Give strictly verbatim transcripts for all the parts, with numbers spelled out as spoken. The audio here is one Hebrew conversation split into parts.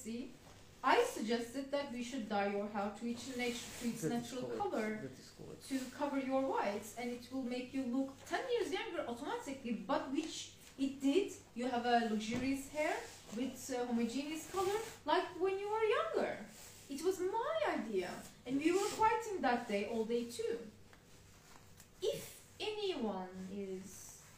pregnancy, I suggested that we should dye your hair to its, natu to its natural color to cover your whites, and it will make you look ten years younger automatically, but which it did. You have a luxurious hair with uh, homogeneous color like when you were younger. It was my idea, and we were fighting that day all day too. If anyone is,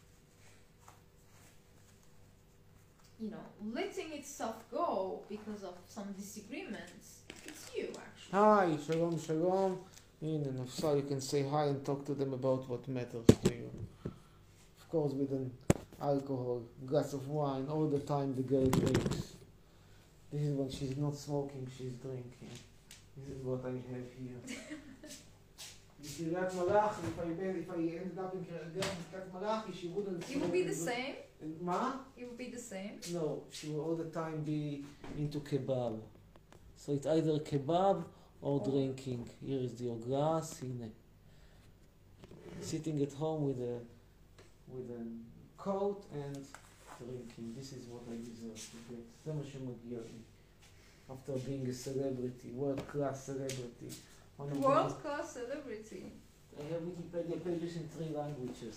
you know, letting itself go because of some disagreements, it's you actually. Hi, shalom, shalom. In and so you can say hi and talk to them about what matters to you. Of course, with an alcohol, glass of wine, all the time the girl drinks. This is when she's not smoking, she's drinking. This is what I have here. Kiryat Malachi, if I if I ended up in Kiryat Malachi, she wouldn't. It would be the same. Ma? It would be the same. No, she will all the time be into kebab. So it's either kebab or oh. drinking. Here is your glass. Hine. Sitting at home with a with a coat and drinking. This is what I deserve to get. זה מה שמגיע לי. After being a celebrity, world class celebrity. World class celebrity. I have Wikipedia pages in three languages.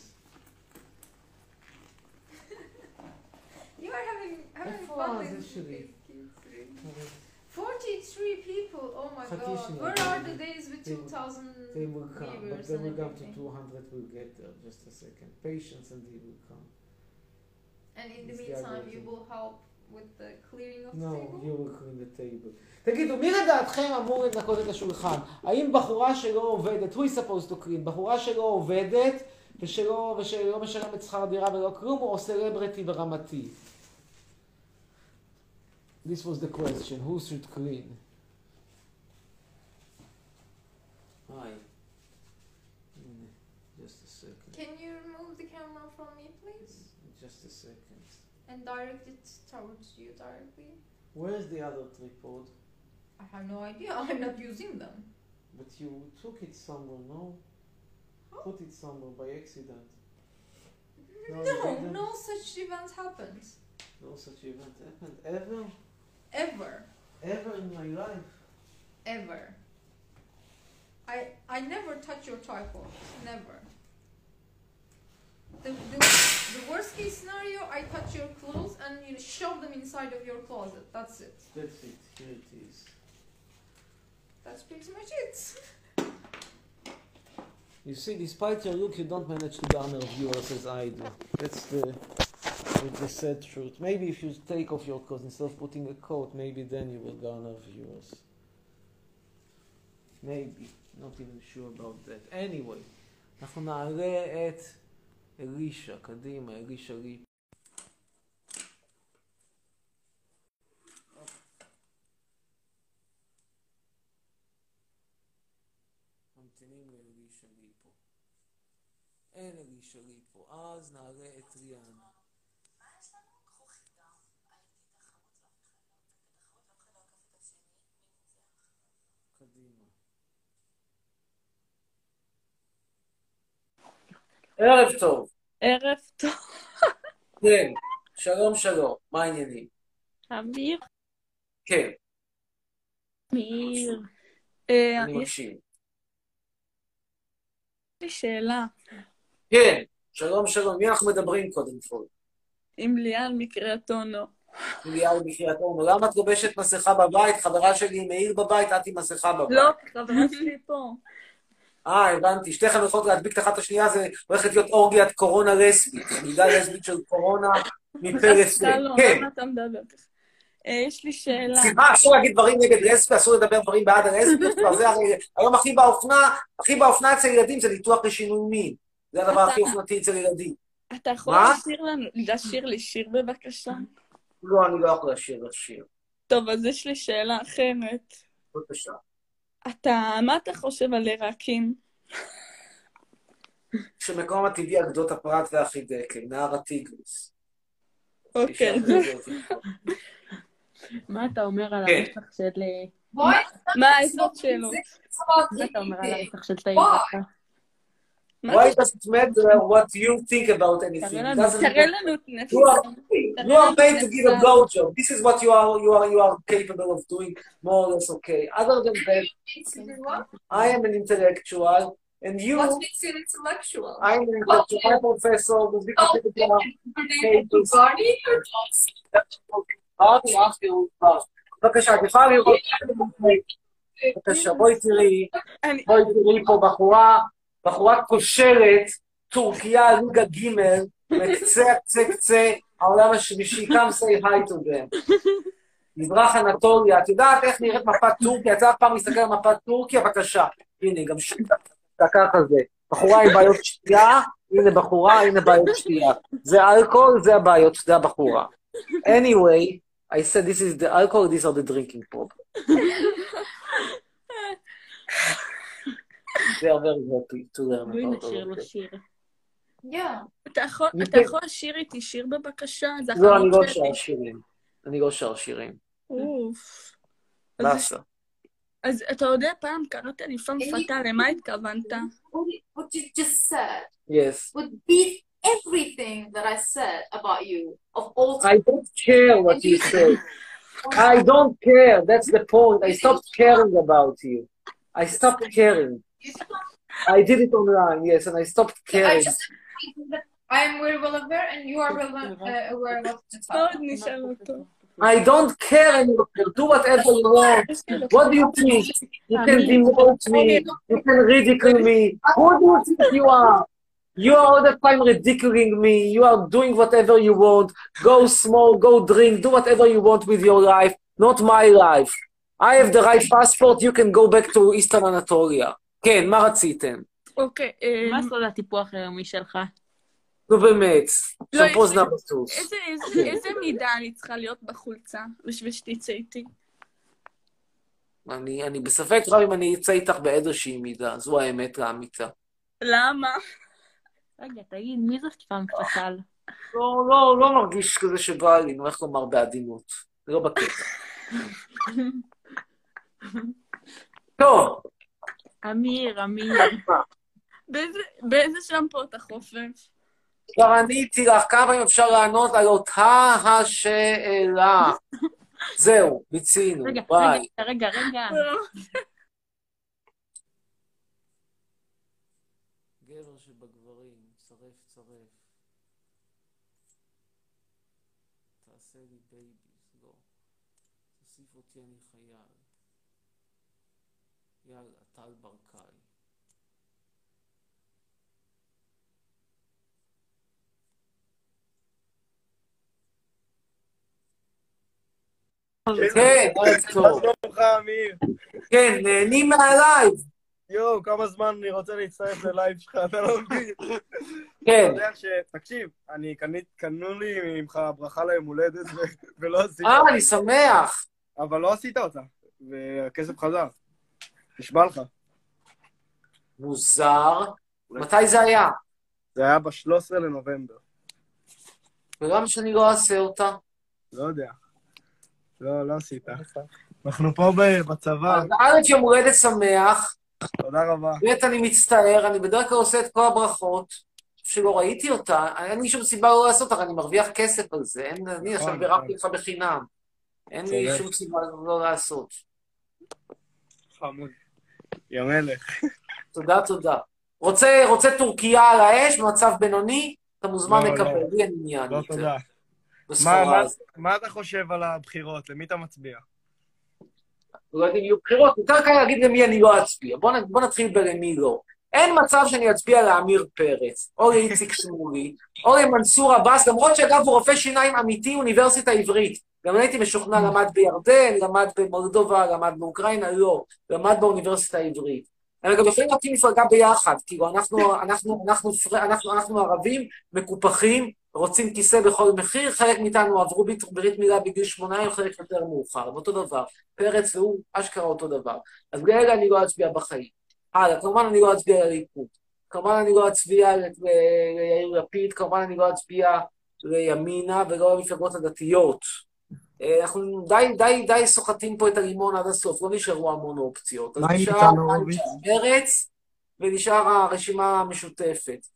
You are having having fun with these forty-three people. Oh my God! Where are the days with two thousand viewers? They will come, but then we come to two hundred. We'll get there. Just a second. Patience, and they will come. And in the meantime, you will help with the clearing of the no, table? No, you will clean the table. תגידו, מי לדעתכם אמור לנקות את השולחן? האם בחורה שלא עובדת, who is supposed to clean? בחורה שלא עובדת ושלא, ושלא משלמת שכר דירה ולא כלום, או סלבריטי ברמתי? This was the question. Who should clean? Hi. Just a second. Can you remove the camera from me, please? Just a second. And direct it towards you directly. Where is the other tripod? I have no idea. I'm not using them. But you took it somewhere, no? Huh? Put it somewhere by accident. No, no, no such event happened. No such event happened ever? Ever. Ever in my life? Ever. I I never touch your tripod. Never. The, the, the worst case scenario, I touch your clothes and you know, shove them inside of your closet. That's it. That's it. Here it is. That's pretty much it. You see, despite your look, you don't manage to garner viewers as I do. That's the, the sad truth. Maybe if you take off your clothes instead of putting a coat, maybe then you will garner viewers. Maybe. Not even sure about that. Anyway, אנחנו נעלה את אלישה, קדימה, אלישה ליפ. ממתינים לאלישה ליפו. אין אלישה ליפו, אז נעלה את ריאן. מה יש לנו? קחו חידה. הייתי תחרות ואף אחד לא עקף את השני. מי מוזח? קדימה. ערב טוב. ערב טוב. כן, שלום שלום, מה העניינים? אמיר? כן. אמיר. אני מקשיב. יש לי שאלה. כן, שלום שלום, מי אנחנו מדברים קודם כל? עם ליאל מקריית אונו. ליאל מקריית אונו, למה את לובשת מסכה בבית? חברה שלי מאיר בבית, את עם מסכה בבית. לא, חברה שלי פה. אה, הבנתי. שתיכן יכולות להדביק את אחת השנייה, זה הולכת להיות אורגיית קורונה לסבית. מידה לסבית של קורונה מפה לסבית. כן. למה אתה מדבר ככה? יש לי שאלה. סליחה, אסור להגיד דברים נגד לסבית, אסור לדבר דברים בעד הלסבית. היום הכי באופנה, הכי באופנה אצל ילדים זה ניתוח לשינוי מין. זה הדבר הכי אופנתי אצל ילדים. אתה יכול לשיר לי שיר בבקשה? לא, אני לא יכול לשיר לשיר. טוב, אז יש לי שאלה אחרת. בבקשה. אתה, מה אתה חושב על עיראקים? שמקום הטבעי על גדות הפרת והחידקל, נהר הטיגריס. אוקיי. מה אתה אומר על הרצח של... מה העזרות שלו? מה אתה אומר על הרצח של תאיר? Why does it matter what you think about anything? תראה לנו את נפש. You are made to give a blowjob. This is what you are, you are, you are capable of doing, more or less okay. Other than that, I am an intellectual, and you... What makes you an intellectual? I am an intellectual. I'm a professor. with big papers. Barney or Johnson? אמרתי, אמרתי, בבקשה, את יכולה לראות, בבקשה, בואי תראי, בואי תראי פה בחורה, בחורה כושרת, טורקיה, ליגה ג' מקצה, קצה, קצה, העולם השלישי, come say hi to them. מזרח אנטוליה, את יודעת איך נראית מפת טורקיה? את יודעת פעם להסתכל על מפת טורקיה? בבקשה, הנה, גם שתיקה כזה. בחורה עם בעיות שתייה, הנה בחורה, הנה בעיות שתייה. זה אלכוהול, זה הבעיות, זה הבחורה. Anyway, I said this is the alcohol, these are the drinking problem. They are very happy to learn בואי about נשאיר all לו of that. שיר. אתה יכול לשיר איתי שיר בבקשה? לא, אני לא שר שירים. אני לא שר שירים. אוף. באסה. אז אתה יודע, פעם קראת לי פם פתה, למה התכוונת? What you just said Yes. would beat everything that I said about you of all I time. don't care what you say. I don't care. That's the point. I stopped caring about you. I stopped caring. I did it online, yes, and I stopped I caring. just I am very well aware, and you are well uh, aware of the מאוד topic. נשאר אותו. I don't care anymore. Do whatever you want. What do you think? You can demote me. You can ridicule me. Who do you think you are? You are all the time ridiculing me. You are doing whatever you want. Go smoke, go drink, do whatever you want with your life, not my life. I have the right passport, you can go back to Eastern Anatolia. כן, מה רציתם? אוקיי. מה סוד הטיפוח היומי שלך? נו באמת, לא, שמפוז יש- נבטוס. איזה- איזה- איזה מידה אני צריכה להיות בחולצה בשביל שתצא איתי? אני אני בספק רב אם אני אצא איתך באיזושהי מידה, זו האמת האמיתה. למה? רגע, תגיד, מי זאת פעם פתל? לא, לא, לא מרגיש כזה שבא לי, אני הולך לומר בעדינות. זה לא בקטע. טוב, אמיר, אמיר. באיזה- באיזה שמפו אתה חופש? כבר עניתי לך, כמה פעמים אפשר לענות על אותה השאלה. זהו, מיצינו, רגע, ביי. רגע, רגע, רגע. גבר שבגברים, צרף צרף. תעשה לי בייביס, לא. תוסיף אותי אני חייל. יאללה, טל ברקאי. כן, ערב טוב. מה שלומך, אמיר? כן, נהנים מהלייב. יואו, כמה זמן אני רוצה להצטרף ללייב שלך, אתה לא מבין? כן. אתה יודע ש... תקשיב, אני קנית, קנו לי ממך ברכה ליום הולדת ו- ולא עשית אה, אותה. אני שמח. אבל לא עשית אותה, והכסף חזר. נשבע לך. מוזר. מתי זה היה? זה היה ב-שלושה עשר לנובמבר. ולמה שאני לא אעשה אותה? לא יודע. לא, לא עשית. אנחנו פה ב- בצבא. אז א', יום הולדת שמח, תודה רבה. ב', אני מצטער, אני בדרך כלל עושה את כל הברכות, שלא ראיתי אותה, אין לי שום סיבה לא לעשות אותה, אני מרוויח כסף על זה, אין, אני עכשיו בירכתי אותך בחינם. אין לי צודק. שום סיבה לא לעשות. חמוד. יא מלך. תודה, תודה. רוצה, רוצה טורקיה על האש, במצב בינוני, אתה מוזמן לא, לקבל, לא. לי אין עניין. לא, יותר. תודה. מה- בסחורה מה- הזאת. מה אתה חושב על הבחירות? למי אתה מצביע? לא יודעים, יהיו בחירות, יותר קל להגיד למי אני לא אצביע. בוא, נ- בוא נתחיל בלמי לא. אין מצב שאני אצביע לעמיר פרץ, או לאיציק שמולי, או למנסור עבאס, למרות שאגב הוא רופא שיניים אמיתי, אוניברסיטה עברית. גם אני הייתי משוכנע, למד בירדן, למד במולדובה, למד באוקראינה, לא. למד באוניברסיטה העברית. הם גם יכולים להקים מפלגה ביחד, כאילו אנחנו, אנחנו, אנחנו, אנחנו, אנחנו, אנחנו ערבים, מקופחים, רוצים כיסא בכל מחיר, חלק מאיתנו עברו ברית ברית מילה בגיל שמונה, חלק יותר מאוחר, אותו דבר. פרץ והוא אשכרה אותו דבר. אז בגלל אני לא אצביע בחיים. הלאה, כמובן אני לא אצביע לליכוד. כמובן אני לא אצביע ל- ל- ליאיר לפיד, כמובן אני לא אצביע לימינה ולא למפלגות הדתיות. אה, אנחנו די, די, די סוחטים פה את הלימון עד הסוף, לא נשארו המון אופציות. אז מה עם נשאר ניצן הורוביץ? מרצ ונשאר הרשימה המשותפת.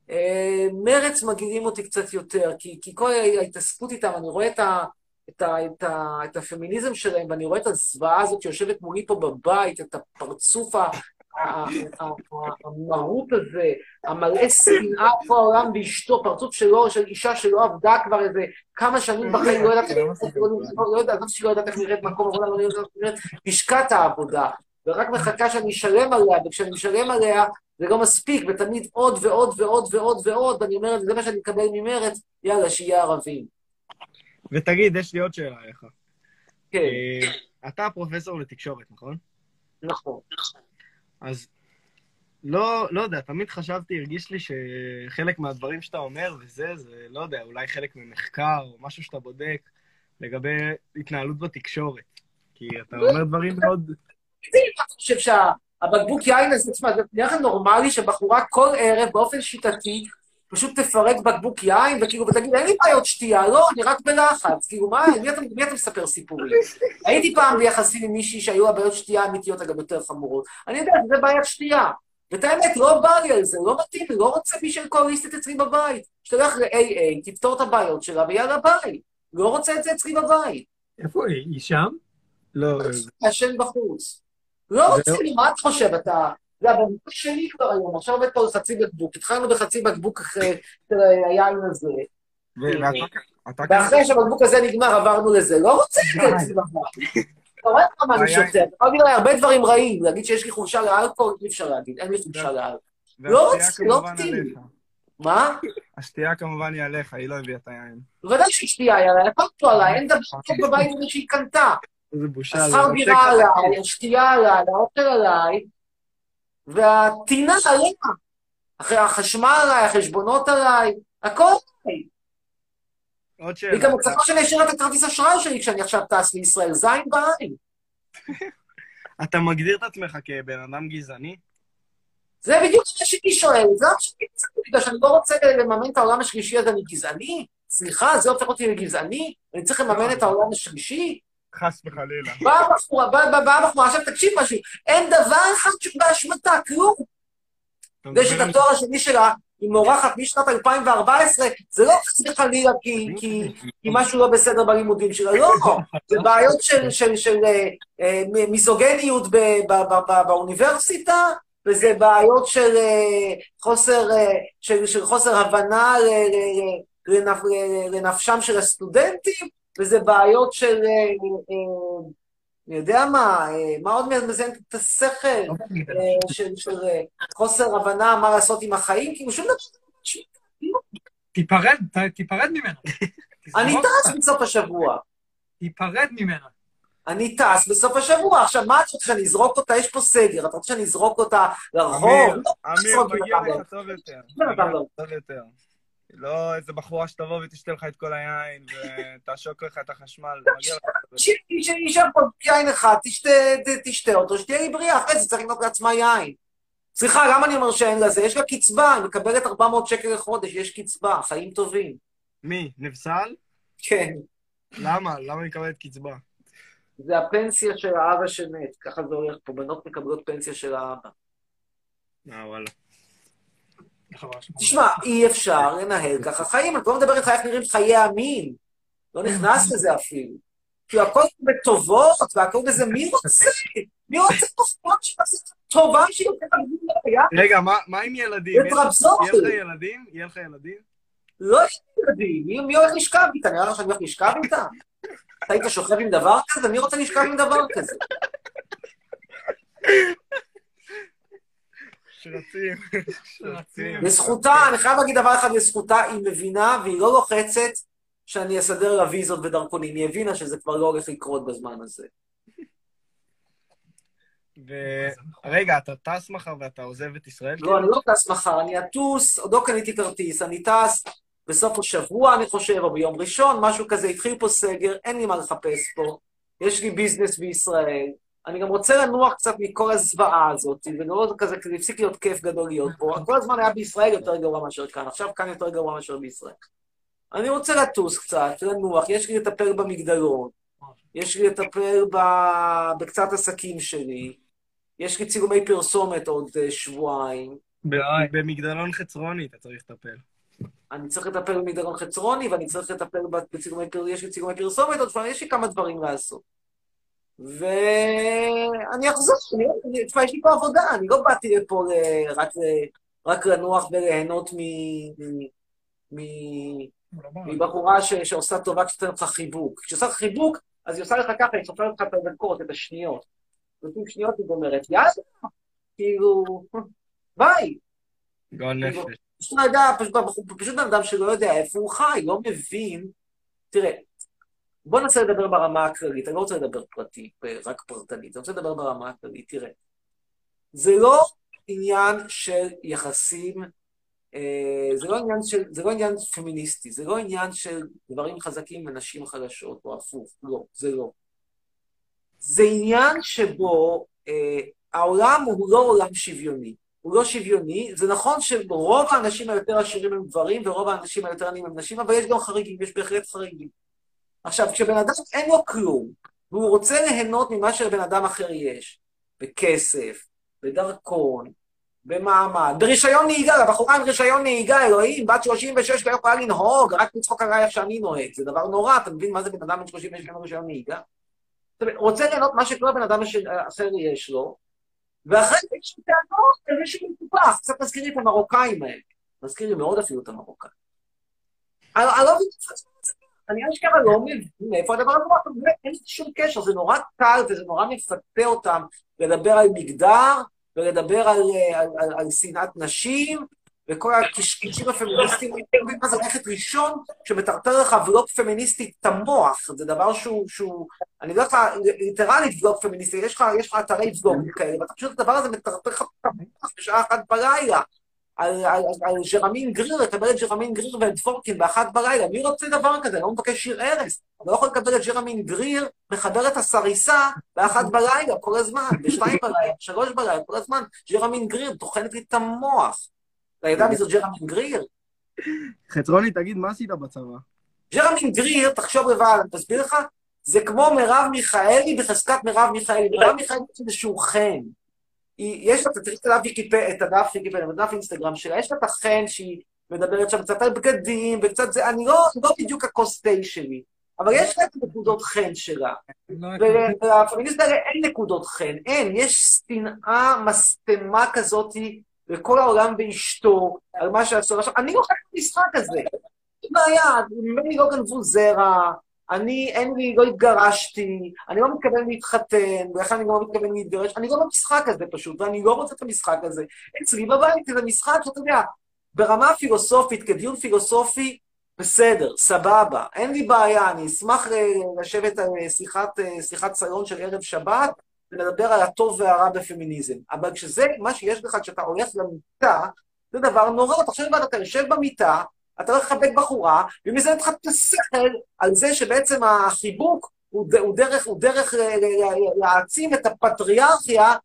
אה, מרץ מגעילים אותי קצת יותר, כי, כי כל ההתעסקות איתם, אני רואה את, ה, את, ה, את, ה, את הפמיניזם שלהם, ואני רואה את הזוועה הזאת שיושבת מולי פה בבית, את הפרצוף ה- ה- ה- המרוט הזה, המלא שנאה פה העולם באשתו, פרצוף שלו, של אישה שלא עבדה כבר איזה כמה שנים בחיים, לא יודעת איך לא יודעת, לא שהיא לא יודעת איך נראית מקום עבודה, לא יודעת איך נראית לשכת העבודה, ורק מחכה שאני אשלם עליה, וכשאני משלם עליה, זה לא מספיק, ותמיד עוד ועוד ועוד ועוד ועוד, ואני אומרת, זה מה שאני אקבל ממרץ, יאללה, שיהיה ערבים. ותגיד, יש לי עוד שאלה עליך. כן, אה, אתה פרופסור לתקשורת, נכון? נכון. אז לא, לא יודע, תמיד חשבתי, הרגיש לי שחלק מהדברים שאתה אומר וזה, זה, לא יודע, אולי חלק ממחקר או משהו שאתה בודק לגבי התנהלות בתקשורת. כי אתה אומר דברים מאוד... אני חושב שהבקבוק יין הזה, תשמע, זה נראה לך נורמלי שבחורה כל ערב באופן שיטתי פשוט תפרק בקבוק יין, וכאילו, ותגיד, אין לי בעיות שתייה, לא, אני רק בלחץ. כאילו, מה, מי אתה, מי אתה מספר סיפורים? הייתי פעם ביחסים עם מישהי שהיו הבעיות שתייה אמיתיות, אגב, יותר חמורות. אני יודע, זה בעיית שתייה. ואת האמת, לא בא לי על זה, לא מתאים לי, לא רוצה מישהו אלכוהוליסטית אצלי בבית. שתלך ל-איי איי, תפתור את הבעיות שלה, ויאללה ביי. לא רוצה את זה אצלי בבית. איפה היא? היא שם? לא. השן בחוץ. לא רוצה לי, מה את חושב? אתה... זה הבקבוק שלי כבר היום, עכשיו עובד פה על חצי בקבוק. התחלנו בחצי בקבוק אחרי של היין הזה. ואחרי שהבקבוק הזה נגמר, עברנו לזה. לא רוצה את זה בבית. אתה רואה כמה אני שותה. אתה יכול להגיד לי הרבה דברים רעים. להגיד שיש לי חולשה לאלכוהול, אי אפשר להגיד. אין לי חולשה לאלכוהול. לא רוצה, לא מתאים. מה? השתייה כמובן היא עליך, היא לא הביאה את היין. בוודאי שהשתייה היא עליי, הכל פה עליי, אין דבר טוב בבית הזה שהיא קנתה. איזה בושה. השכר דירה עליי, השתייה עליי, האוכל עליי, והטינה עליה. אחרי החשמל עליי, החשבונות עליי, הכל עליי. עוד שאלה. היא גם מצפה שאני אשאיר את הכרטיס אשראי שלי כשאני עכשיו טס לישראל, זין בעין. אתה מגדיר את עצמך כבן אדם גזעני? זה בדיוק מה שאני שואל, זה מה שאני גזעני, בגלל שאני לא רוצה לממן את העולם השלישי, אז אני גזעני? סליחה, זה הופך אותי לגזעני? אני צריך לממן את העולם השלישי? חס וחלילה. באה בחורה, באה בחורה, עכשיו תקשיב משהו, אין דבר אחד שבאשמתה, כלום. זה שאת התואר השני שלה, היא מורחת משנת אלפיים וארבע עשרה, זה לא חס וחלילה כי משהו לא בסדר בלימודים שלה, לא. זה בעיות של מיזוגניות באוניברסיטה, וזה בעיות של חוסר, של חוסר הבנה לנפשם של הסטודנטים, וזה בעיות של, אני יודע מה, מה עוד מזיין את השכל, של חוסר הבנה מה לעשות עם החיים, כאילו שום דבר. תיפרד, תיפרד ממנה. אני טס בסוף השבוע. תיפרד ממנה. אני טס בסוף השבוע. עכשיו, מה את רוצה שאני אזרוק אותה? יש פה סגר. אתה רוצה שאני אזרוק אותה לרחוב? אמיר, מגיע לך טוב יותר. טוב יותר. לא איזה בחורה שתבוא ותשתה לך את כל היין ותעשוק לך את החשמל. שישב פה יין אחד, תשתה אותו, שתהיה לי בריאה. אחרי זה צריך לקנות לעצמה יין. סליחה, למה אני אומר שאין לזה? יש לה קצבה, היא מקבלת ארבע מאות שקל לחודש, יש קצבה, חיים טובים. מי? נבסל? כן. למה? למה היא מקבלת קצבה? זה הפנסיה של האבא שמת, ככה זה הולך פה, בנות מקבלות פנסיה של האבא. אה, וואלה. תשמע, אי אפשר לנהל ככה חיים, אני לא מדבר איתך איך נראים חיי המין, לא נכנס לזה אפילו. כי הכל בטובות, והכל בזה, מי רוצה? מי רוצה תוכנות שעושה טובה שהיא יותר גבוהה? רגע, מה עם ילדים? יהיה לך ילדים? יהיה לך ילדים? לא יש ילדים, מי הולך לשכב איתה? נראה לך שאני הולך לשכב איתה? אתה היית שוכב עם דבר כזה? מי רוצה לשכב עם דבר כזה? שרצים, שרצים. לזכותה, אני חייב להגיד דבר אחד לזכותה, היא מבינה והיא לא לוחצת שאני אסדר לה ויזות ודרכונים. היא הבינה שזה כבר לא הולך לקרות בזמן הזה. ורגע, אתה טס מחר ואתה עוזב את ישראל? לא, אני לא טס מחר, אני אטוס, עוד לא קניתי כרטיס, אני טס בסוף השבוע, אני חושב, או ביום ראשון, משהו כזה, התחיל פה סגר, אין לי מה לחפש פה, יש לי ביזנס בישראל, אני גם רוצה לנוח קצת מכל הזוועה הזאת, ולא כזה, כזה הפסיק להיות כיף גדול להיות פה, כל הזמן היה בישראל יותר גרוע מאשר כאן, עכשיו כאן יותר גרוע מאשר בישראל. אני רוצה לטוס קצת, לנוח, יש לי לטפל במגדלון, יש לי לטפל בקצת עסקים שלי, יש לי צילומי פרסומת עוד שבועיים, ביי. במגדלון חצרוני אתה צריך לטפל. אני צריך לטפל במגדלון חצרוני, ואני צריך לטפל בצילומי פרסומת, יש לי צילומי פרסומת, עוד פעם, יש לי כמה דברים לעשות. ואני אחזור, אני, תשמע, יש לי פה עבודה, אני לא באתי לפה ל- רק, ל- רק לנוח וליהנות מ... מ- מ- מבחורה ש- שעושה טובה כשתן לך חיבוק. כשעושה לך חיבוק, אז היא עושה לך ככה, היא סופרת לך את הדקות, את השניות. נותנים שניות, היא אומרת, יאללה, כאילו, ביי. גועל כאילו, נפש. פשוט לא יודע, פשוט, פשוט בן אדם שלא יודע איפה הוא חי, לא מבין. תראה, בוא ננסה לדבר ברמה הכללית, אני לא רוצה לדבר פרטי, רק פרטנית, אני רוצה לדבר ברמה הכללית, תראה. זה לא עניין של יחסים, אה, זה לא עניין של, זה לא עניין פמיניסטי, זה לא עניין של גברים חזקים ונשים חלשות, או הפוך, לא, זה לא. זה עניין שבו אה, העולם הוא לא עולם שוויוני. הוא לא שוויוני, זה נכון שרוב האנשים היותר עשירים הם גברים, ורוב האנשים היותר עניים הם נשים, אבל יש גם חריגים, יש בהחלט חריגים. עכשיו, כשבן אדם אין לו כלום, והוא רוצה ליהנות ממה שלבן אדם אחר יש, בכסף, בדרכון, במעמד, ברישיון נהיגה, לבחורה עם רישיון נהיגה, אלוהים, בת שלושים ושש לא יכולה לנהוג, רק לצחוק עליי איך שאני נוהג, זה דבר נורא, אתה מבין מה זה בן אדם בן שלושים ושש עם רישיון נהיגה? זאת אומרת, רוצה ליהנות מה שכל בן אדם אחר יש לו, ואחרי זה יש טענות, זה מישהו מטופח, קצת מזכיר לי את המרוקאים האלה, מזכיר לי מאוד אפילו את המרוקאים. אני לא מבין את זה. אני אשכרה לא מבין מאיפה הדבר הזה, אבל באמת אין שום קשר, זה נורא קל וזה נורא מפתה אותם לדבר על מגדר, ולדבר על, על, על, על שנאת נשים, וכל הקשקשים הפמיניסטיים, מה זה ללכת ראשון, שמטרטר לך ולוג פמיניסטי תמוח, זה דבר שהוא, שהוא אני לא יודע, ליטרלית ולוג פמיניסטי, יש לך, יש לך אתרי ולוג כאלה, ואתה פשוט הדבר הזה מטרטר לך תמוח בשעה אחת בלילה, על, על, על ג'רמין גריר, לקבל את ג'רמין גריר ואת דבורקין באחת בלילה. מי רוצה דבר כזה? אני לא מבקש שיר ארס. אני לא יכול לקבל את ג'רמין גריר, מחבר את הסריסה באחת בלילה, כל הזמן, בשתיים בלילה, בשלוש בלילה, כל הזמן. ג'רמין גריר, תוכנת לי את המוח. אתה יודע מי זו ג'רמין גריר? חצרוני, תגיד, מה עשית בצבא? ג'רמין גריר, תחשוב לבד, אני תסביר לך, זה כמו מרב מיכאלי בחזקת מרב מיכאלי. מרב מיכאלי זה איזשהו חן. יש לה, תראי את הדף ויקיפדיה, את הדף ויקיפדיה, את הדף אינסטגרם שלה, יש לה את החן שהיא מדברת שם קצת על בגדים וקצת זה, אני לא, לא בדיוק הקוסטי שלי, אבל יש לה את נקודות חן שלה. ולפמיניסט האלה אין נקודות חן, אין, יש שנאה מסתמה כזאת לכל העולם ואשתו, על מה שעשו. עכשיו, אני לא חייב במשחק הזה. אין בעיה, ממני לא גנבו זרע, אני, אין לי, לא התגרשתי, אני לא מתכוון להתחתן, ולכן אני לא מתכוון להתגרש, אני לא במשחק הזה פשוט, ואני לא רוצה את המשחק הזה. אצלי בבית זה משחק שאתה יודע, ברמה פילוסופית, כדיון פילוסופי, בסדר, סבבה, אין לי בעיה, אני אשמח לשבת על שיחת, שיחת סלון של ערב שבת, ולדבר על הטוב והרע בפמיניזם. אבל כשזה, מה שיש לך, כשאתה הולך למיטה, זה דבר נורא, אתה חושב, אתה יושב במיטה, אתה הולך לחבק בחורה, ומזה נתך את השכל על זה שבעצם החיבוק הוא, ד, הוא דרך, הוא דרך להעצים את הפטריארכיה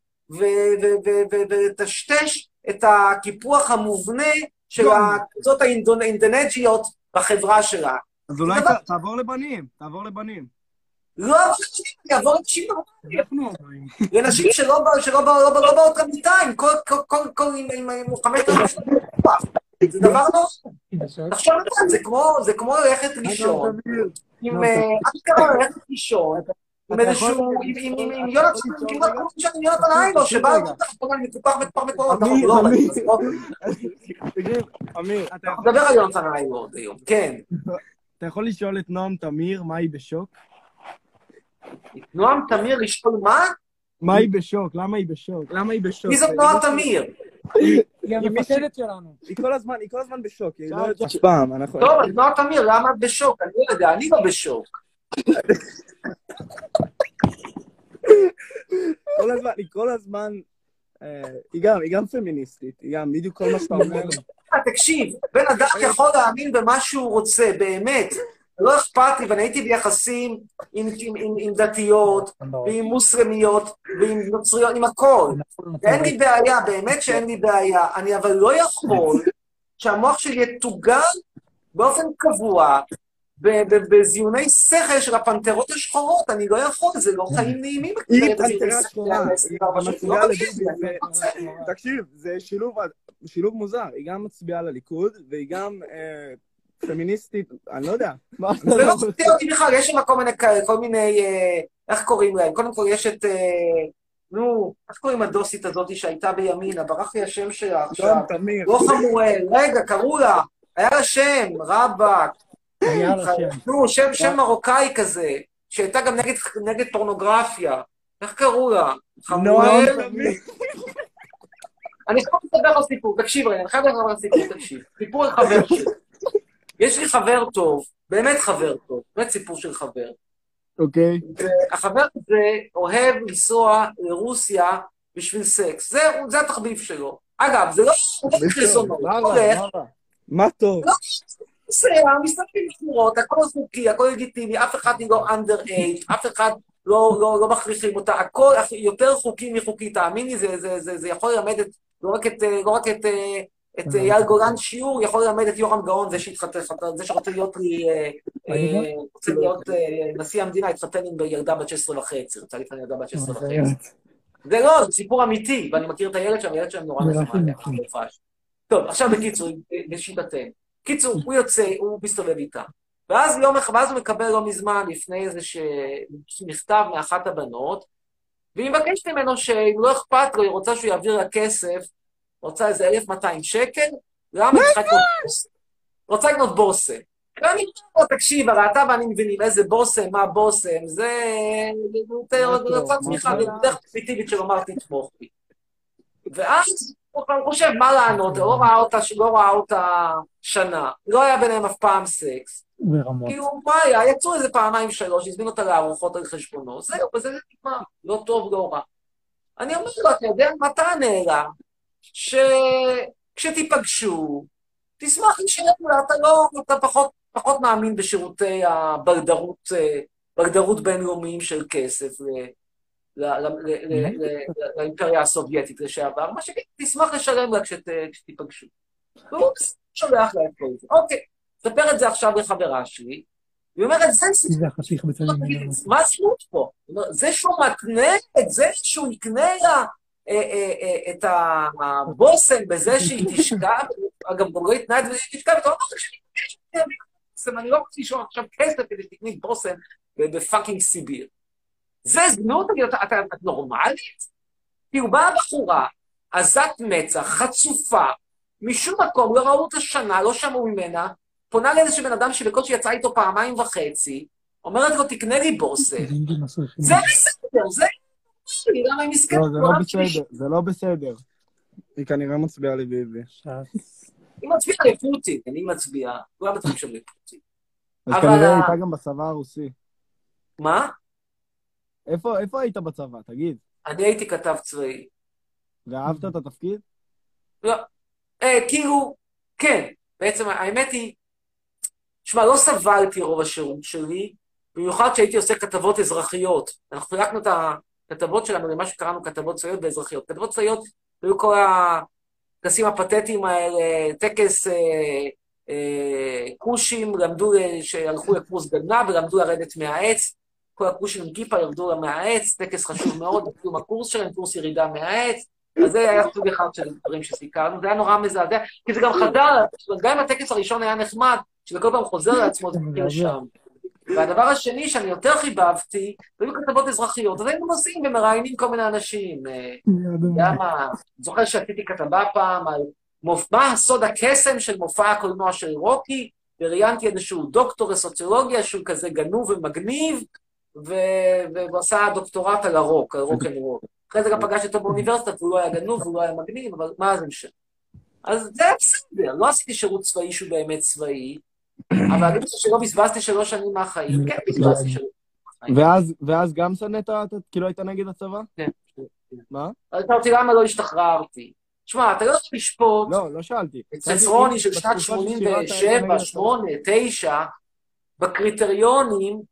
ולטשטש את הקיפוח המובנה של הקבוצות האינדונג'יות בחברה שלה. אז אולי תעבור לבנים, תעבור לבנים. לא, יעבור לנשים נורמליים. לנשים שלא באות למיטה עם חמש דקות. זה דבר נורא. תחשוב את זה, זה כמו ללכת לישון. עם אשכרה ללכת לישון. עם איזשהו, עם יונתן, כמעט כמו שאני יונתן איילו, שבא לתת לך אני מפוקח מפח מקורות. אמיר, אמיר. תגיד, אמיר. אתה מדבר על יונתן איילו עוד היום, כן. אתה יכול לשאול את נועם תמיר מה היא בשוק? נועם תמיר לשאול מה? מה היא בשוק? למה היא בשוק? למה היא בשוק? מי זאת נועם תמיר? היא המפקדת שלנו. היא כל הזמן, היא כל הזמן בשוק. היא לא יודעת פעם. טוב, אז נועם תמיר, למה את בשוק? אני לא יודע, אני לא בשוק. כל הזמן, היא כל הזמן, היא גם, היא גם פמיניסטית, היא גם בדיוק כל מה שאתה אומר. תקשיב, בן אדם יכול להאמין במה שהוא רוצה, באמת. לא אכפת לי, ואני הייתי ביחסים עם, עם, עם, עם דתיות, ועם מוסלמיות, ועם נוצריות, עם הכל. ואין לי בעיה, באמת שאין לי בעיה. אני אבל לא יכול שהמוח שלי יתוגל באופן קבוע בזיוני שכל של הפנתרות השחורות, אני לא יכול, זה לא חיים נעימים. היא פנתרה שחורה, היא מצביעה לביבי, תקשיב, זה שילוב מוזר, היא גם מצביעה לליכוד, והיא גם פמיניסטית, אני לא יודע. זה לא מפתיע אותי בכלל, יש שם כל מיני, איך קוראים להם? קודם כל יש את, נו, איך קוראים הדוסית הזאת שהייתה בימינה, ברח לי השם שלה עכשיו. לא חמואל, רגע, קראו לה, היה לה שם, רבאק. נו, שם מרוקאי כזה, שהייתה גם נגד פורנוגרפיה. איך קראו לה? חמואל? אני חייב לדבר על סיפור, תקשיב רגע, אני חייב לדבר על סיפור, תקשיב. סיפור על חבר שלי. יש לי חבר טוב, באמת חבר טוב, באמת סיפור של חבר. אוקיי. והחבר הזה אוהב לנסוע לרוסיה בשביל סקס. זה התחביב שלו. אגב, זה לא חזונות. מה טוב? לא, זה, מסתכלים בחורות, הכל חוקי, הכל לגיטימי, אף אחד לא under age, אף אחד לא מכריחים אותה, הכל יותר חוקי מחוקי, תאמיני, זה יכול ללמד לא רק את את אייל גולן שיעור, יכול ללמד את יורם גאון, זה שרוצה להיות לי, רוצה להיות נשיא המדינה, התחתן עם ילדה בת שש עשרה וחצי, רוצה להתחתן עם ילדה בת שש עשרה וחצי. זה לא, זה סיפור אמיתי, ואני מכיר את הילד שם, הילד שם נורא נחמד. טוב, עכשיו בקיצור, בשיטתנו. קיצור, הוא יוצא, הוא מסתובב איתה. ואז יום אחד, ואז הוא מקבל לא מזמן, לפני איזה מכתב מאחת הבנות, והיא מבקשת ממנו שאם לא אכפת לו, היא רוצה שהוא יעביר לה כסף, רוצה איזה אלף מאתיים שקל, למה היא צריכה לקנות בושם? רוצה לקנות בושם. ואני אומר, תקשיב, הרי אתה ואני מבינים איזה בושם, מה בושם, זה... זה רצה צמיחה, זה דרך פסיטיבית של אומר תתמוך בי. ואז הוא חושב, מה לענות, לא ראה אותה, לא ראה אותה שנה, לא היה ביניהם אף פעם סקס. כאילו, מה היה? יצאו איזה פעמיים שלוש, הזמין אותה לארוחות על חשבונו, זהו, וזה נגמר, לא טוב, לא רע. אני אומר לו, אתה יודע, מה תענה לה? שכשתיפגשו, תשמח לשלם לה, אתה לא, אתה פחות, פחות מאמין בשירותי הבלדרות, בלדרות בינלאומיים של כסף לאימפריה הסובייטית לשעבר, מה שתשמח לשלם לה כשתיפגשו. והוא שולח לה את כל זה. אוקיי, תספר את זה עכשיו לחברה שלי, היא אומרת, זה סיפור, מה הסיפור פה? זה שהוא מתנה את זה שהוא יקנה לה את הבושם בזה שהיא תשכב, אגב, גם לא התנה את זה שהיא תשכב, ואתה אומר, אני לא רוצה לשאול עכשיו כסף כדי שתקני בושם בפאקינג סיביר. זה זנות, אתה נורמלית? כי הוא באה בחורה, עזת מצח, חצופה, משום מקום, לא ראו אותה שנה, לא שמעו ממנה, פונה לאיזשהו בן אדם שבקושי יצא איתו פעמיים וחצי, אומרת לו, תקנה לי בושם. זה בסדר, זה... לא, זה לא בסדר, זה לא בסדר. היא כנראה מצביעה לביבי. היא מצביעה לפוטין, אני מצביעה, כולם מצביעים שם לפוטין. אז כנראה הייתה גם בצבא הרוסי. מה? איפה היית בצבא, תגיד? אני הייתי כתב צבאי. ואהבת את התפקיד? לא, כאילו, כן, בעצם האמת היא, שמע, לא סבלתי רוב השירות שלי, במיוחד שהייתי עושה כתבות אזרחיות. אנחנו חילקנו את הכתבות שלנו למה שקראנו כתבות צבאיות ואזרחיות. כתבות צבאיות היו כל הטקסים הפתטיים האלה, טקס אה, אה, קושים, למדו שהלכו לקורס גדנ"ע ולמדו לרדת מהעץ, כל הקושים עם כיפה ירדו מהעץ, טקס חשוב מאוד, בקיום הקורס שלהם, קורס ירידה מהעץ, אז זה היה סוג אחד של דברים שסיכרנו, זה היה נורא מזעזע, כי זה גם חדר, גם אם הטקס הראשון היה נחמד, שזה כל פעם חוזר לעצמו, זה מכיר שם. והדבר השני שאני יותר חיבבתי, זה היו כתבות אזרחיות, אז היינו נוסעים ומראיינים כל מיני אנשים. למה? זוכר שעשיתי כתבה פעם על מה סוד הקסם של מופע הקולנוע של רוקי, וראיינתי איזשהו דוקטור לסוציולוגיה שהוא כזה גנוב ומגניב, והוא עשה דוקטורט על הרוק, על רוק אנד רול. אחרי זה גם פגשתי אותו באוניברסיטה, והוא לא היה גנוב, והוא לא היה מגניב, אבל מה זה משנה? אז זה היה בסדר, לא עשיתי שירות צבאי שהוא באמת צבאי, אבל אני חושב שלא בזבזתי שלוש שנים מהחיים, כן בזבזתי שלוש שנים מהחיים. ואז גם שנאת, כאילו היית נגד הצבא? כן. מה? אתה אותי למה לא השתחררתי? תשמע, אתה לא יכול לשפוט, לא, לא שאלתי. את ססרוני של שנת שמונים ושבע, שמונה, תשע, בקריטריונים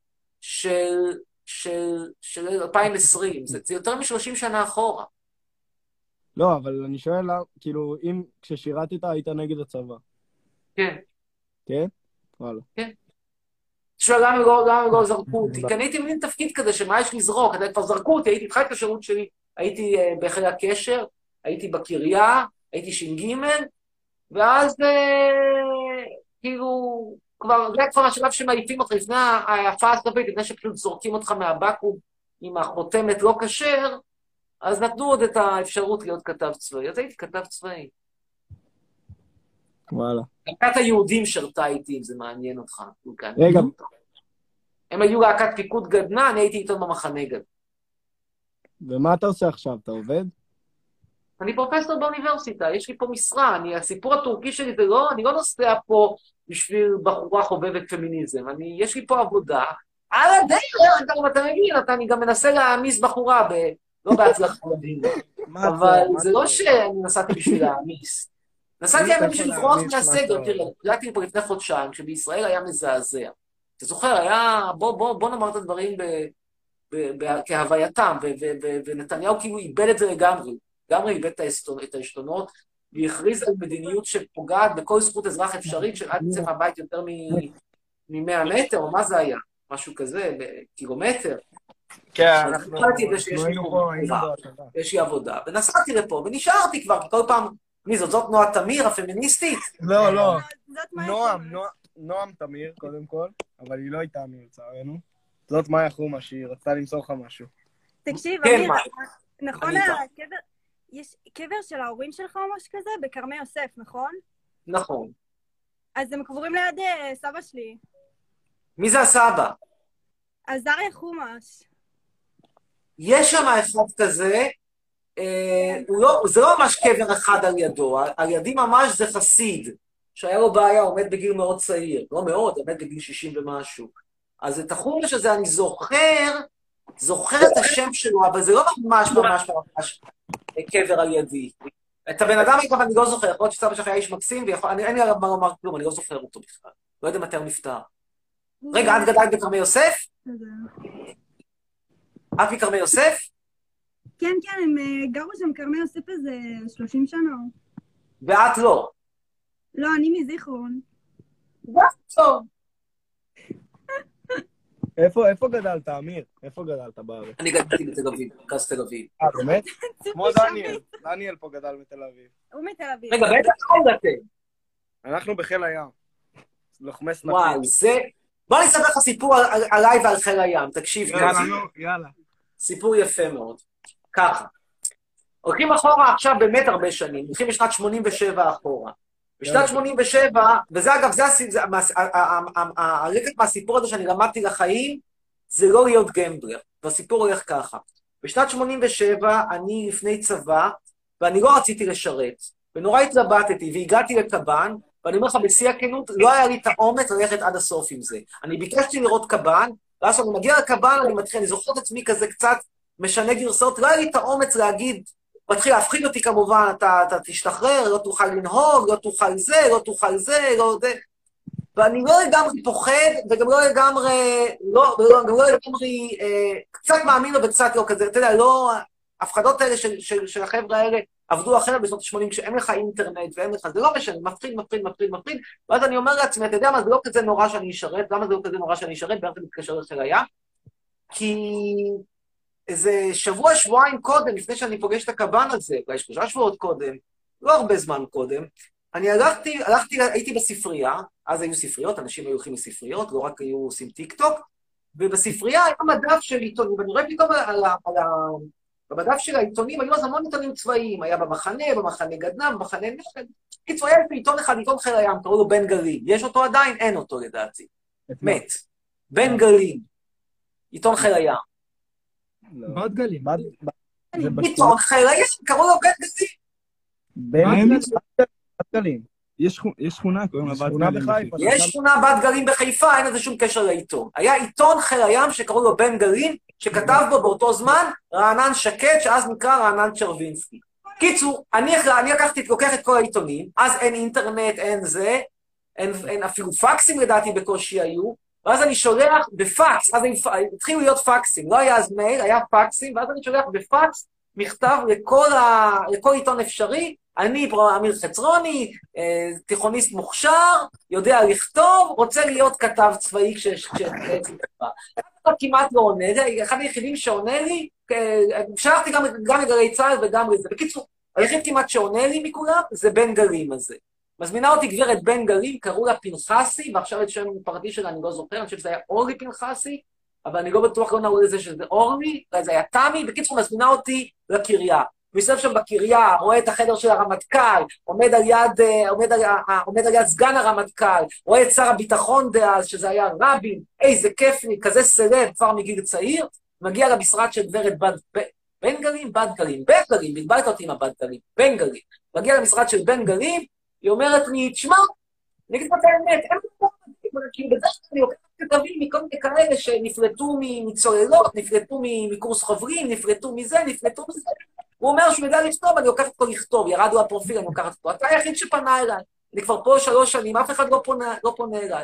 של אלפיים ועשרים, זה יותר מ-שלושים שנה אחורה. לא, אבל אני שואל, כאילו, אם כששירתת היית נגד הצבא. כן. כן? וואלה. כן. שואל למה לא, למה לא זרקו אותי, כי אני הייתי מבין תפקיד כזה שמה יש לזרוק, כבר זרקו אותי, הייתי התחלתי את השירות שלי, הייתי uh, בחיל הקשר, הייתי בקריה, הייתי ש"ג, ואז uh, כאילו, כבר, זה כבר השלב שמעיפים אותך לפני ההפעה הסופית, לפני שפשוט זורקים אותך מהבקו"ם עם החותמת לא כשר, אז נתנו עוד את האפשרות להיות כתב צבאי, אז הייתי כתב צבאי. וואלה. להקת היהודים שרתה איתי, אם זה מעניין אותך. רגע. הם היו להקת פיקוד גדנ"ע, אני הייתי איתו במחנה גדנ"ע. ומה אתה עושה עכשיו? אתה עובד? אני פרופסור באוניברסיטה, יש לי פה משרה, אני, הסיפור הטורקי שלי זה לא, אני לא נוסע פה בשביל בחורה חובבת פמיניזם, אני, יש לי פה עבודה, על הדרך, גם אתה מבין, אתה, אני גם מנסה להעמיס בחורה, ב, לא בהצלחה מדהימה, אבל זה לא שאני נסעתי בשביל להעמיס. נסעתי האמת בשביל לברוח מהסגר, תראה, הגעתי פה לפני חודשיים, כשבישראל היה מזעזע. אתה זוכר, היה, בוא, בוא, בוא נאמר את הדברים ב, ב, ב, כהווייתם, ו, ו, ו, ונתניהו כאילו איבד את זה לגמרי, לגמרי איבד את העשתונות, והכריז על מדיניות שפוגעת בכל זכות אזרח אפשרית, שעד יצא מהבית יותר מ-מאה מטר, או מה זה היה? משהו כזה, בקילומטר. כן, אנחנו היינו פה, יש לי עבודה, ונסעתי לפה, ונשארתי כבר, כי כל פעם, מי זאת? זאת נועה תמיר, הפמיניסטית? לא, לא. נועם, נועם תמיר, קודם כל, אבל היא לא הייתה אמיר, לצערנו. זאת מאיה חומה, שהיא רצתה למסור לך משהו. תקשיב, אמיר, נכון, יש קבר של ההורים שלך או משהו כזה? בכרמי יוסף, נכון? נכון. אז הם קבורים ליד סבא שלי. מי זה הסבא? עזריה חומש. יש שם אחד כזה, זה לא ממש קבר אחד על ידו, על ידי ממש זה חסיד, שהיה לו בעיה, עומד בגיל מאוד צעיר, לא מאוד, עומד בגיל שישים ומשהו. אז את החומש הזה אני זוכר, זוכר את השם שלו, אבל זה לא ממש ממש ממש קבר על ידי. את הבן אדם אגב אני לא זוכר, יכול להיות שסבא שלך היה איש מקסים, אין לי עליו מה לומר כלום, אני לא זוכר אותו בכלל. לא יודע מתי הוא נפטר. רגע, את גדלת בכרמי יוסף? את מכרמי יוסף? כן, כן, הם גרו שם כרמי יוסף איזה שלושים שנה. ואת לא? לא, אני מזיכרון. טוב. איפה, איפה גדלת, אמיר? איפה גדלת בארץ? אני גדלתי בתל אביב, מרכז תל אביב. אה, באמת? כמו דניאל. דניאל פה גדל בתל אביב. הוא מתל אביב. רגע, באיזה חיל אתם? אנחנו בחיל הים. לוחמי סנפים. וואי, זה... בוא אני אספר לך סיפור עליי ועל חיל הים, תקשיב. יאללה, יאללה. סיפור יפה מאוד. ככה. הולכים אחורה עכשיו באמת הרבה שנים, הולכים בשנת שמונים ושבע אחורה. בשנת שמונים ושבע, וזה אגב, זה הרקע מהסיפור הזה שאני למדתי לחיים, זה לא להיות גמבלר, והסיפור הולך ככה. בשנת שמונים ושבע אני לפני צבא, ואני לא רציתי לשרת, ונורא התלבטתי, והגעתי לקב"ן, ואני אומר לך בשיא הכנות, לא היה לי את האומץ ללכת עד הסוף עם זה. אני ביקשתי לראות קב"ן, ואז כשאני מגיע לקב"ן, אני מתחיל, אני זוכר את עצמי כזה קצת משנה גרסאות, לא היה לי את האומץ להגיד, מתחיל להפחיד אותי כמובן, אתה, אתה תשתחרר, לא תוכל לנהוג, לא תוכל זה, לא תוכל זה, לא זה. ואני לא לגמרי פוחד, וגם לא לגמרי, לא, לא, גם לא לגמרי, אה, קצת מאמין לו וקצת לא כזה, אתה יודע, לא, ההפחדות האלה של, של, של החבר'ה האלה עבדו אחרת בשנות ה-שמונים, כשאין לך אינטרנט ואין לך, זה לא משנה, מפחיד, מפחיד, מפחיד, מפחיד, ואז אני אומר לעצמי, אתה יודע מה, זה לא כזה נורא שאני אשרת, למה זה לא כזה נורא שאני אשרת, ואיך זה מתקשר לחיל הים? כי איזה שבוע, שבועיים קודם, לפני שאני פוגש את הקב"ן הזה, אולי שלושה שבועות קודם, לא הרבה זמן קודם, אני הלכתי, הלכתי, הייתי בספרייה, אז היו ספריות, אנשים היו הולכים לספריות, לא רק היו עושים טיק טוק, ובספרייה היה מדף של עיתונים, ואני רואה פתאום על ה... על ה במדף של העיתונים היו אז המון עיתונים צבאיים, היה במחנה, במחנה גדנ"ע, במחנה נכד. קיצור, היה עיתון אחד, עיתון חיל הים, קראו לו בן גלים. יש אותו עדיין? אין אותו לדעתי. מת. בן גלים. עיתון חיל הים. בת גלים. עיתון חיל הים, קראו לו בן גלים. בן גלים. יש שכונה, קוראים לה בת גלים בחיפה. יש שכונה בת גלים בחיפה, אין לזה שום קשר לעיתון. היה עיתון חיל הים שקראו לו בן גלים, שכתב בו באותו זמן רענן שקד, שאז נקרא רענן צ'רווינסקי. קיצור, אני, אני לקחתי, לוקח את כל העיתונים, אז אין אינטרנט, אין זה, אין, אין אפילו פקסים לדעתי בקושי היו, ואז אני שולח בפקס, אז התחילו להיות פקסים, לא היה אז מייל, היה פקסים, ואז אני שולח בפקס מכתב לכל, ה, לכל עיתון אפשרי, אני פה אמיר חצרוני, תיכוניסט מוכשר, יודע לכתוב, רוצה להיות כתב צבאי כשבעצם כתבה. אתה כמעט לא עונה, זה אחד היחידים שעונה לי, שלחתי גם לגלי צה"ל וגם לזה. בקיצור, היחיד כמעט שעונה לי מכולם זה בן גלים הזה. מזמינה אותי גברת בן גלים, קראו לה פנחסי, ועכשיו את שם הפרטי שלה אני לא זוכר, אני חושב שזה היה אורלי פנחסי, אבל אני לא בטוח, לא נעול לזה שזה אורלי, אולי זה היה תמי, בקיצור מזמינה אותי לקריה. מסתובב שם בקריה, רואה את החדר של הרמטכ"ל, עומד על יד, עומד על, עומד על יד סגן הרמטכ"ל, רואה את שר הביטחון דאז, שזה היה רבין, איזה כיף לי, כזה סלב, כבר מגיל צעיר, מגיע למשרד של גברת בן, בן גלים, בן גלים, בן גלים, בלבלת אותי עם הבן גלים, בן גלים, מגיע למשרד של בן גלים, היא אומרת לי, תשמע, אני אגיד לך את האמת, אין לי פה, כאילו בדרך כלל אני לוקחת כתבים מכל מיני כאלה שנפלטו מצוללות, נפלטו מקורס חוברים, נפלטו מזה, נפלטו מזה, הוא אומר שהוא יודע לכתוב, אני לוקחת אותו לכתוב, ירדו הפרופיל, אני לוקחת אותו. אתה היחיד שפנה אליי. אני כבר פה שלוש שנים, אף אחד לא פונה, לא פונה אליי.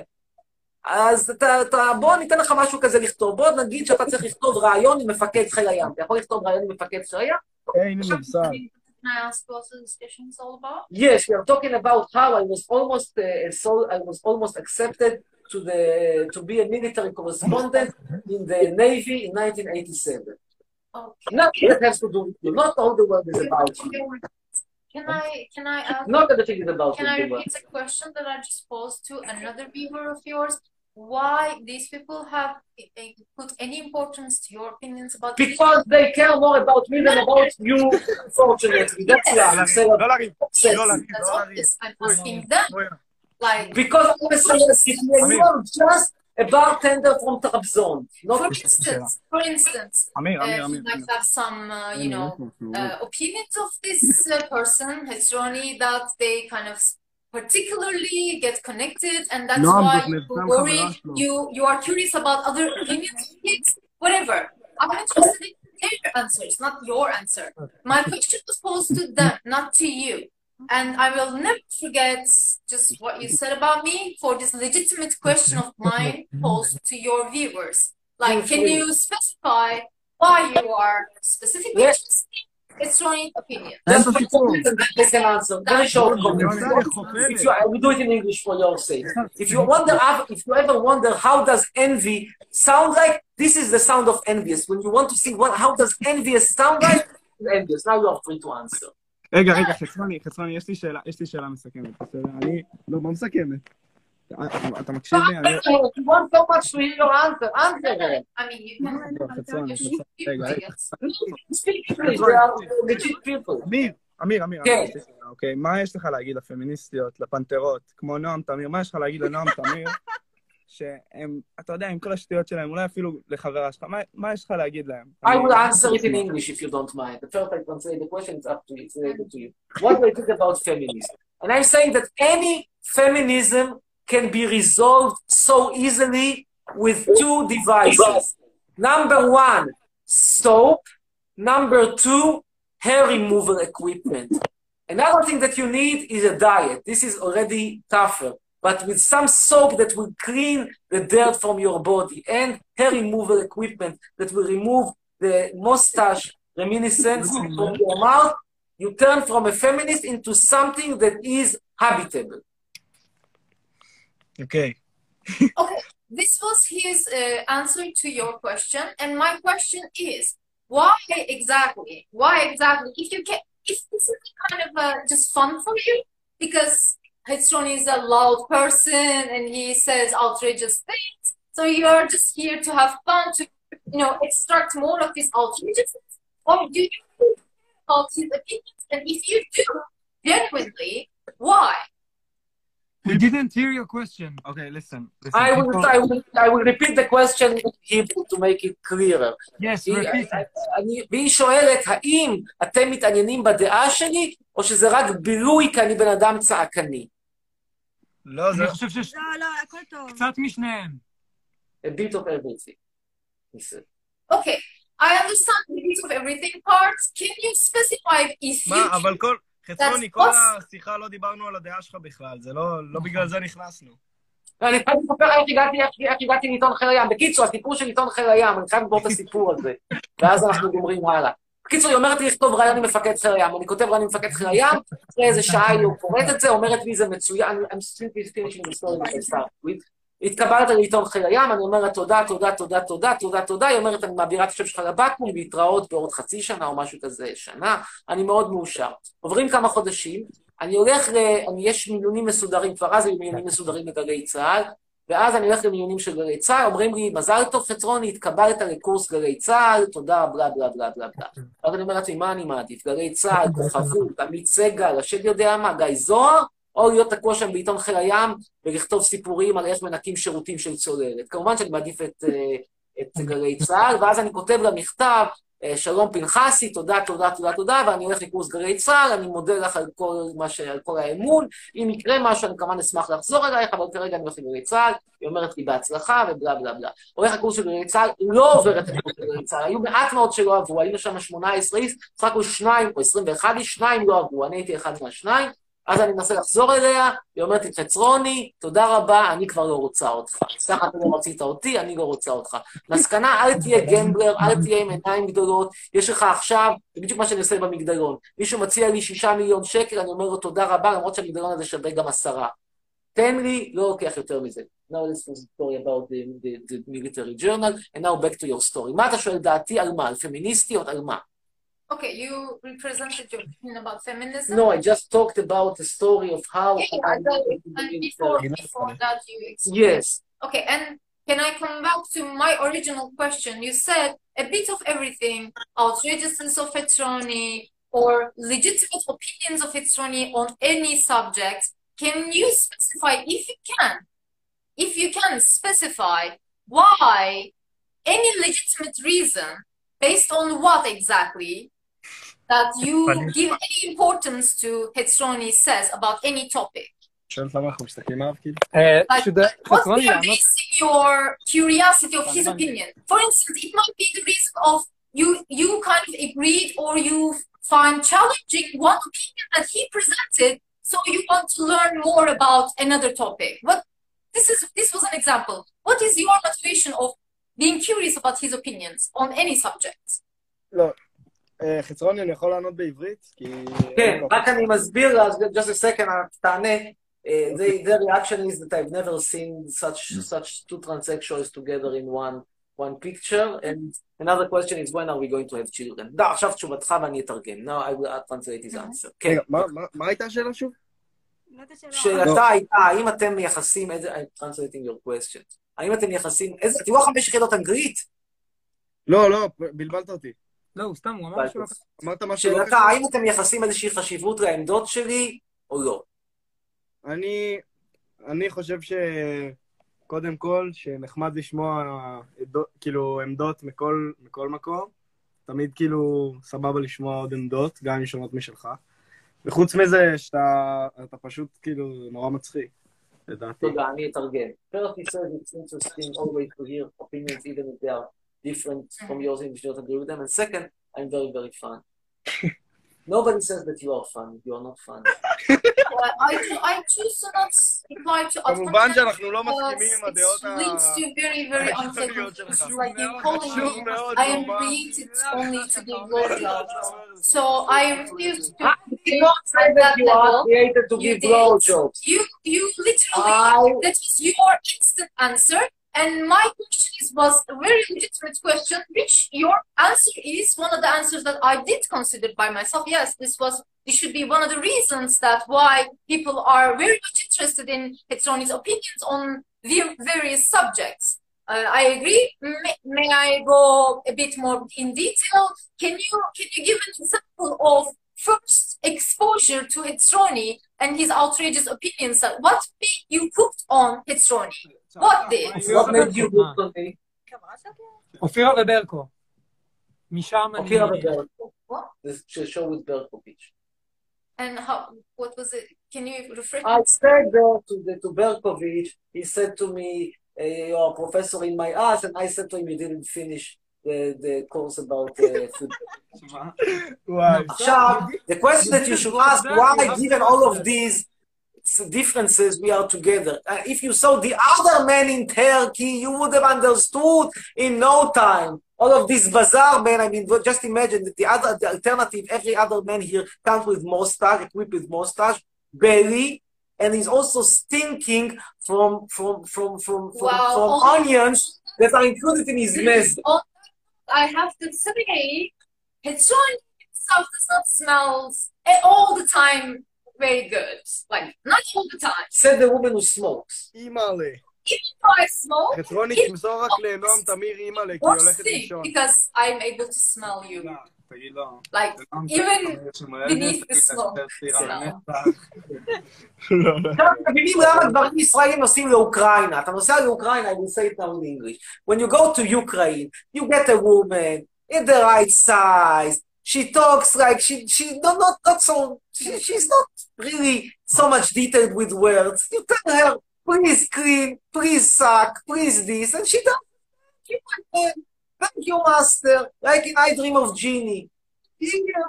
אז אתה, אתה, בוא ניתן לך משהו כזה לכתוב. בוא נגיד שאתה צריך לכתוב רעיון עם מפקד חיל הים. אתה יכול לכתוב רעיון עם מפקד חיל הים? אין לי מושג. Can I ask what the discussion is all about? Yes, we are talking about how I was almost uh, so I was almost accepted to the to be a military correspondent in the Navy in nineteen eighty-seven. Okay. Nothing that has to do with you. Not all the world is about you. Can I can I ask? Not everything is about Can you. I repeat a question that I just posed to another viewer of yours? Why these people have uh, put any importance to your opinions about? Because they care more about me than about you. Unfortunately, that's Yes. why I'm saying. לא לריב, לא לריב, That's לא obvious. לריב. I'm asking them. Like, Because I'm a celebrity, you are just a bartender from Trabzon. Not for instance, for instance, אמיר, uh, אמיר, you אמיר. might have some, uh, you know, uh, opinions of this uh, person, Hezroni, that they kind of particularly get connected, and that's Noam, why but you Mefram worry, חברה שלו. you you are curious about other opinions, kids, whatever. I'm interested in their answers, not your answer. My question was posed to them, not to you. And I will never forget just what you said about me for this legitimate question of mine posed to your viewers. Like, can you specify why you are specifically Yes. interested in Hezroni's opinion? That's what they can answer. Very short comment. If you, I will do it in English for your sake. If you wonder, if you ever wonder how does envy sound like, this is the sound of envious. When you want to see what, how does envious sound like, envious. Now you are free to answer. רגע, רגע, חצרוני, חצרוני, יש לי שאלה, יש לי שאלה מסכמת, בסדר? אני, לא, מה מסכמת? אתה מקשיב לי? אני... If you want so much to hear your answer, answer it. I mean, you can. חצרוני, You should be רגע, רגע. Speak English, they are legit people. אמיר, אמיר, אמיר, כן. יש לי שאלה, אוקיי, מה יש לך להגיד לפמיניסטיות, לפנתרות, כמו נועם תמיר, מה יש לך להגיד לנועם תמיר, שהם, אתה יודע, עם כל השטויות שלהם, אולי אפילו לחברה שלך, מה, מה יש לך להגיד להם? I will answer it in English if you don't mind. The first I translate the question, it's up to you, it's related to you. What do I think about feminism? And I'm saying that any feminism can be resolved so easily with two devices. Number one, soap. Number two, hair removal equipment. Another thing that you need is a diet. This is already tougher. But with some soap that will clean the dirt from your body and hair removal equipment that will remove the mustache reminiscence from your mouth, you turn from a feminist into something that is habitable. Okay. Okay, this was his uh, answer to your question, and my question is, why exactly? Why exactly? If you can, if this is kind of uh, just fun for you, because Hezroni is a loud person and he says outrageous things, so you're just here to have fun, to, you know, extract more of his outrageousness, or do you care about his opinions? And if you do, genuinely, why? We didn't hear your question. Okay, listen. listen. I will, I will, I will repeat the question in Hebrew to make it clearer. Yes, repeat it. אני, והיא שואלת, האם אתם מתעניינים בדעה שלי, או שזה רק בילוי כי אני בן אדם צעקני? לא, זה... אני חושב שיש לא, לא, הכל טוב. קצת משניהם. A bit of everything. he said. Okay, I understand the bit of everything part. Can you specify if you... מה, אבל כל... חצרוני, כל That's השיחה לא דיברנו על הדעה שלך בכלל, זה לא, לא בגלל זה נכנסנו. אני חייב לספר איך הגעתי, איך הגעתי לעיתון חיל הים. בקיצור, הסיפור של עיתון חיל הים, אני חייב לגמור את הסיפור הזה, ואז אנחנו גומרים הלאה. קיצור, היא אומרת לי לכתוב רעיון עם מפקד חיל הים, אני כותב רעיון עם מפקד חיל הים, אחרי איזה שעה היא לא קוראת את זה, אומרת לי זה מצוין, I'm simply finishing the story that I started with. התקבלת לעיתון חיל הים, אני אומרת תודה, תודה, תודה, תודה, תודה, תודה, היא אומרת, אני מעבירה את השם שלך לבקו"ם, להתראות בעוד חצי שנה או משהו כזה, שנה, אני מאוד מאושר. עוברים כמה חודשים, אני הולך, אני, יש מיונים מסודרים, כבר אז היו מיונים מסודרים לגלי צה"ל, ואז אני הולך למיונים של גלי צה"ל, אומרים לי, מזל טוב חצרוני, התקבלת לקורס גלי צה"ל, תודה, בלה בלה בלה בלה בלה. אז אני אומר לעצמי, מה אני מעדיף? גלי צה"ל, כוכבות, עמית סגל, השד יודע מה, גיא זוהר, או להיות תקוע שם בעיתון חיל הים ולכתוב סיפורים על איך מנקים שירותים של צוללת. כמובן שאני מעדיף את, את גלי צה"ל, ואז אני כותב לה מכתב, שלום פנחסי, תודה, תודה, תודה, תודה, ואני הולך לקורס גלי צה"ל, אני מודה לך על כל, ש... על כל האמון, אם יקרה משהו, אני כמובן אשמח לחזור אלייך, אבל כרגע אני הולך לגלי צה"ל, היא אומרת לי בהצלחה, ובלה בלה בלה. הולך לקורס של גלי צה"ל, לא עובר את הקורס של גלי צה"ל, היו מעט מאוד שלא עברו, היינו שם שמונה עשרה איש, סך הכל שניים, או עשרים ואחד איש, שניים לא עברו, אני הייתי אחד מהשניים, אז אני מנסה לחזור אליה, היא אומרת לי, חצרוני, תודה רבה, אני כבר לא רוצה אותך. סתם אתה לא רצית אותי, אני לא רוצה אותך. מסקנה, אל תהיה גמבלר, אל תהיה עם עיניים גדולות, יש לך עכשיו, זה בדיוק מה שאני עושה במגדלון. מישהו מציע לי שישה מיליון שקל, אני אומר לו תודה רבה, למרות שהמגדלון הזה שווה גם עשרה. תן לי, לא לוקח יותר מזה. Now this was a story about the, the, the military journal, and now back to your story. מה אתה שואל דעתי על מה? על פמיניסטיות, על מה? Okay, you represented your opinion about feminism. No, I just talked about the story of how... Yeah, I know. And before, before that you explained. Yes. Okay, and can I come back to my original question? You said a bit of everything, outrageousness of Hetzroni, or legitimate opinions of Hetzroni on any subject. Can you specify, if you can, if you can specify why any legitimate reason, based on what exactly, that you give any importance to Hetzroni says about any topic? שואלת למה אנחנו מסתכלים עליו, כאילו? Like, what's the reason your curiosity of his opinion? For instance, it might be the reason of you, you kind of agreed or you find challenging one opinion that he presented, so you want to learn more about another topic. What, this is, this was an example. What is your motivation of being curious about his opinions on any subject? לא. חצרוני, אני יכול לענות בעברית? כן, רק אני מסביר, just a second, תענה. The reaction is that I've never seen such such two transsexuals together in one one picture, and another question is when are we going to have children? דה, עכשיו תשובתך ואני אתרגם. Now I will translate his answer. כן. מה הייתה השאלה שוב? שאלתה הייתה, האם אתם מייחסים, I'm translating your question. האם אתם מייחסים, איזה, תראו חמש יחידות אנגלית? לא, לא, בלבלת אותי. לא, הוא סתם, הוא אמר שלא... אמרת משהו לא שאלתה, האם אתם מייחסים איזושהי חשיבות לעמדות שלי, או לא? אני, אני חושב שקודם כל, שנחמד לשמוע כאילו עמדות מכל, מכל מקום, תמיד כאילו סבבה לשמוע עוד עמדות, גם אם שונות משלך. וחוץ מזה, שאתה אתה פשוט כאילו נורא מצחיק, לדעתי. תודה, אני אתרגם. First, he says it's interesting always to hear opinions even if they are different from yours and you don't agree with them. And second, I'm very, very fun. Nobody says that you are fun. You are not fun. I, I choose to not reply to כמובן שאנחנו לא מסכימים עם הדעות ה... It leads to very, very unpleasant things. Like you calling me, I am created only to give blowjobs. So I refuse to You don't say that you are created to give blowjobs. You, you literally, that was your instant answer. And my question is, was a very legitimate question, which your answer is one of the answers that I did consider by myself. Yes, this was, this should be one of the reasons that why people are very much interested in Hetzroni's opinions on the various subjects. Uh, I agree. May, may I go a bit more in detail? Can you, can you give an example of first exposure to Hetzroni and his outrageous opinions? What made you hooked on Hetzroni? What did? What made you hooked on me? אופירה וברקו. משם אני... אופירה וברקו. The show with Berkovich. And how, what was it? Can you refresh? I said there to, the, to Berkovich, he said to me, you are a professor in my ass, and I said to him, you didn't finish the, the course about uh, football. עכשיו, the question that you should ask, why given all of these differences, we are together. Uh, if you saw the other men in Turkey, you would have understood in no time. All of this bazaar men, I mean, just imagine that the other, the alternative, every other man here comes with mustache, equipped with mustache, belly, and he's also stinking from from from from from, Wow. from Oh. onions that are included in his mess. Oh, I have to say, Hetzron himself does not smell all the time very good. Like, not all the time. Said the woman who smokes. אימא'לה. Even though I smoke, חצרוני, it תמסור רק לנועם תמיר אימא'לה, כי היא won't הולכת stink לישון. because I'm able to smell you. תגיד לו. Like, even beneath the smoke smell. לא, לא. עכשיו אתם מבינים למה דברים ישראלים נוסעים לאוקראינה. אתה נוסע לאוקראינה, I will say it now in English. When you go to Ukraine, you get a woman in the right size. She talks like she she not not, not so she, she's not really so much detailed with words. You tell her, please clean, please suck, please this, and she does. She like, thank you, master. Like in I Dream of Genie. Yeah.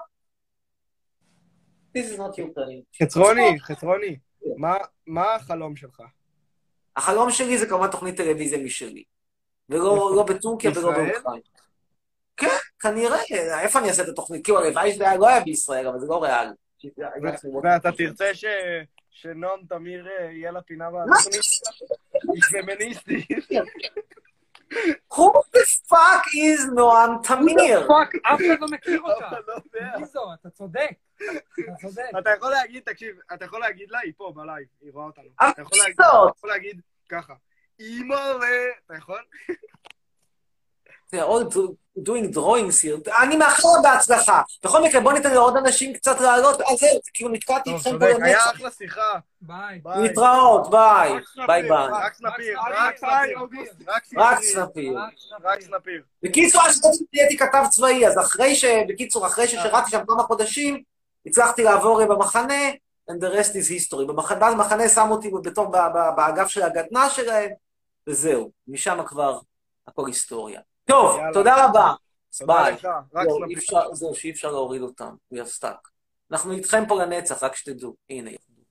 This is not Ukraine. חצרוני, חצרוני, מה- מה החלום שלך? החלום שלי זה כמובן תוכנית טלוויזיה משלי. ולא לא בטורקיה ולא בישראל? באוקראינה. כן, כנראה. איפה אני אעשה את התוכנית? כאילו, הלוואי שזה היה- לא היה בישראל, אבל זה לא ריאלי. ואתה תרצה ש- שנועם תמיר אה, יהיה לה פינה בתוכנית? היא פמיניסטית. Who the fuck is נועם תמיר? פאק, אף אחד לא מכיר אף אותה. אחד לא יודע. מי זו? אתה צודק. אתה צודק. אתה יכול להגיד, תקשיב, אתה יכול להגיד לה, היא פה בלייב, היא רואה אותנו. אבל אתה יכול להגיד- זאת. אתה יכול להגיד ככה, אימא'לה, אתה יכול? They're all do- doing drawings here. אני מאחל לה בהצלחה. בכל מקרה, בוא ניתן לעוד אנשים קצת לעלות. אז זהו, כאילו נתקעתי טוב, איתכם פה צודק, היה לנצח. אחלה שיחה. ביי. ביי. להתראות, ביי. רק סנפיר, ביי ביי. רק סנפיר, רק רק סנפיר. סנפיר, אוגוסט, רק רק סנפיר. סנפיר. רק סנפיר. בקיצור, אז הייתי כתב צבאי, אז אחרי ש... בקיצור, אחרי ששירתי שם כמה חודשים, הצלחתי לעבור במחנה, and the rest is history. במחנה, במחנה שמו אותי בתור ב- ב- באגף של הגדנ"ע שלהם, וזהו. משם כבר הכל היסטוריה. טוב, יאללה. תודה רבה. תודה ביי. לך, רק זהו, סנפיר. אי אפשר- זהו, שאי אפשר להוריד אותם. We are stuck. אנחנו איתכם פה לנצח, רק שתדעו. הנה.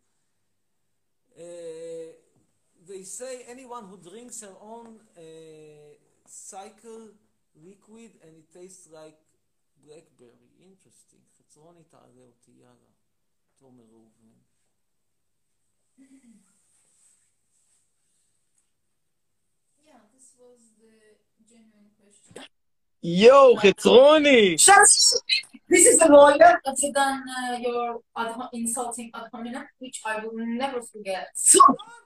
They say anyone who drinks her own cycle liquid and it tastes like blackberry. Interesting. חצרוני תעלה אותי, יאללה. תומר ראובן. Yeah, this was the genuine question. יואו, חצרוני! This is the lawyer other than uh, your ad- insulting ad hominem, which I will never forget. So,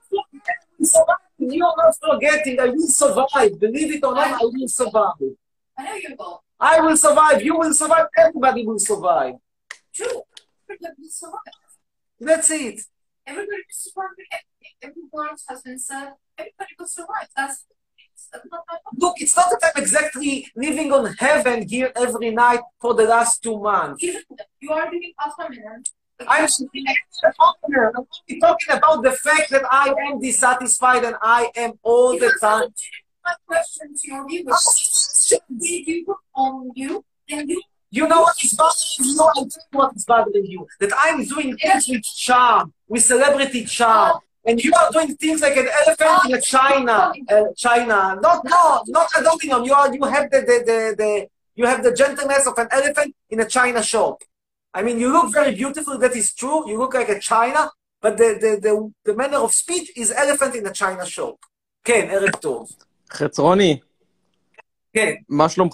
you are not forgetting. I will survive. Believe it or not, I will survive. I know you will. I will survive. You will survive. Everybody will survive. True. Everybody will survive. That's it. Everybody will survive. Everything. Every word has been said. Everybody will survive. That's, that's not my problem. Look, it's not that I'm exactly living on heaven here every night for the last two months. Even though you are doing ad hominem. I'm I'm only talking about the fact that I am dissatisfied and I am all the time. My question to your viewers: did you on you and you? You know what is bothering you? I tell you what is bothering you. That I'm doing things with charm, with celebrity charm. And you are doing things like an elephant in a China. Uh, China. Not, no, not aluminum. You are, you have the, the, the, the, you have the gentleness of an elephant in a China shop. I mean, you look very beautiful. That is true. You look like a China, but the, the, the, the manner of speech is elephant in a China shop. כן, ערב טוב. חצרוני, כן, מה שלומך?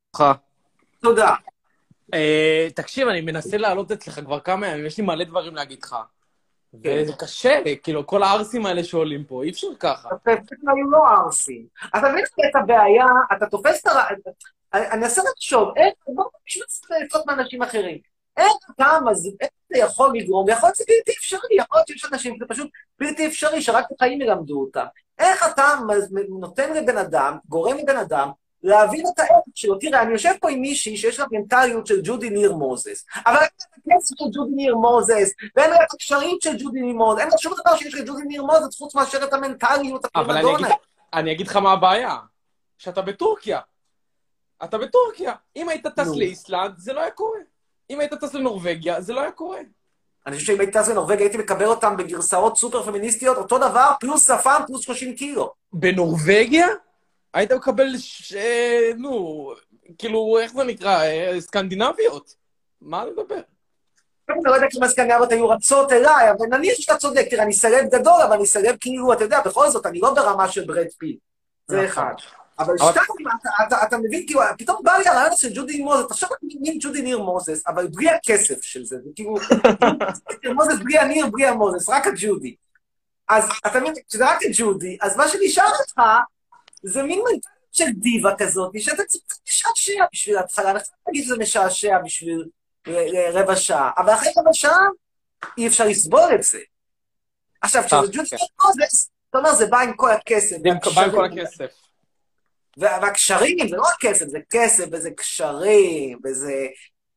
תודה. אה, תקשיב, אני מנסה לעלות אצלך כבר כמה ימים, יש לי מלא דברים להגיד לך. וזה קשה, כאילו, כל הארסים האלה שעולים פה, אי אפשר ככה. אתה היו לא ארסים. אתה מבין את הבעיה, אתה תופס את ה... אני אנסה לחשוב, איך, בואו נשמע קצת מאנשים אחרים. איך אתה, איך אתה יכול לגרום, יכול להיות שזה בלתי אפשרי, יכול להיות שיש אנשים, זה פשוט בלתי אפשרי, שרק החיים ילמדו אותם. איך אתה נותן לבן אדם, גורם לבן אדם, להבין את הערך שלו. תראה, אני יושב פה עם מישהי שיש לה מנטליות של ג'ודי ניר מוזס, אבל אין לה את הכסף של ג'ודי ניר מוזס, ואין לה את הקשרים של ג'ודי ניר מוזס, אין לה שום דבר שיש לג'ודי ניר מוזס, חוץ מאשר את המנטליות אבל אני אגיד, אני אגיד לך מה הבעיה, שאתה בטורקיה. אתה בטורקיה. אם היית טס לאיסלנד, זה לא היה קורה. אם היית טס לנורווגיה, זה לא היה קורה. אני חושב שאם הייתי טס בנורווגיה, הייתי מקבל אותם בגרסאות סופר פמיניסטיות, אותו דבר, פלוס שפם, פלוס שלושים קילו. בנורווגיה? היית מקבל, ש... נו, כאילו, איך זה נקרא? סקנדינביות? מה אני מדבר? אני לא יודע כמה סקנדינביות היו רצות אליי, אבל נניח שאתה צודק, תראה, אני סלב גדול, אבל אני סלב כאילו, אתה יודע, בכל זאת, אני לא ברמה של ברד פיט. זה אחד. אבל שתיים, אתה מבין, כאילו, פתאום בא לי הרעיון של ג'ודי ניר מוזס, עכשיו אני מבין ג'ודי ניר מוזס, אבל בלי הכסף של זה, זה כאילו, מוזס בלי הניר, בלי המוזס, רק הג'ודי. אז אתה מבין, כשזה רק הג'ודי, אז מה שנשאר לך, זה מין מנטליות של דיבה כזאת, שאתה קצת משעשע בשביל התחלה, אני חושב להגיד שזה משעשע בשביל רבע שעה, אבל אחרי רבע שעה, אי אפשר לסבול את זה. עכשיו, כשזה ג'ודי ניר מוזס, אתה אומר, זה בא עם כל הכסף. בא עם כל הכסף. והקשרים, זה לא רק כסף, זה כסף, וזה קשרים, וזה,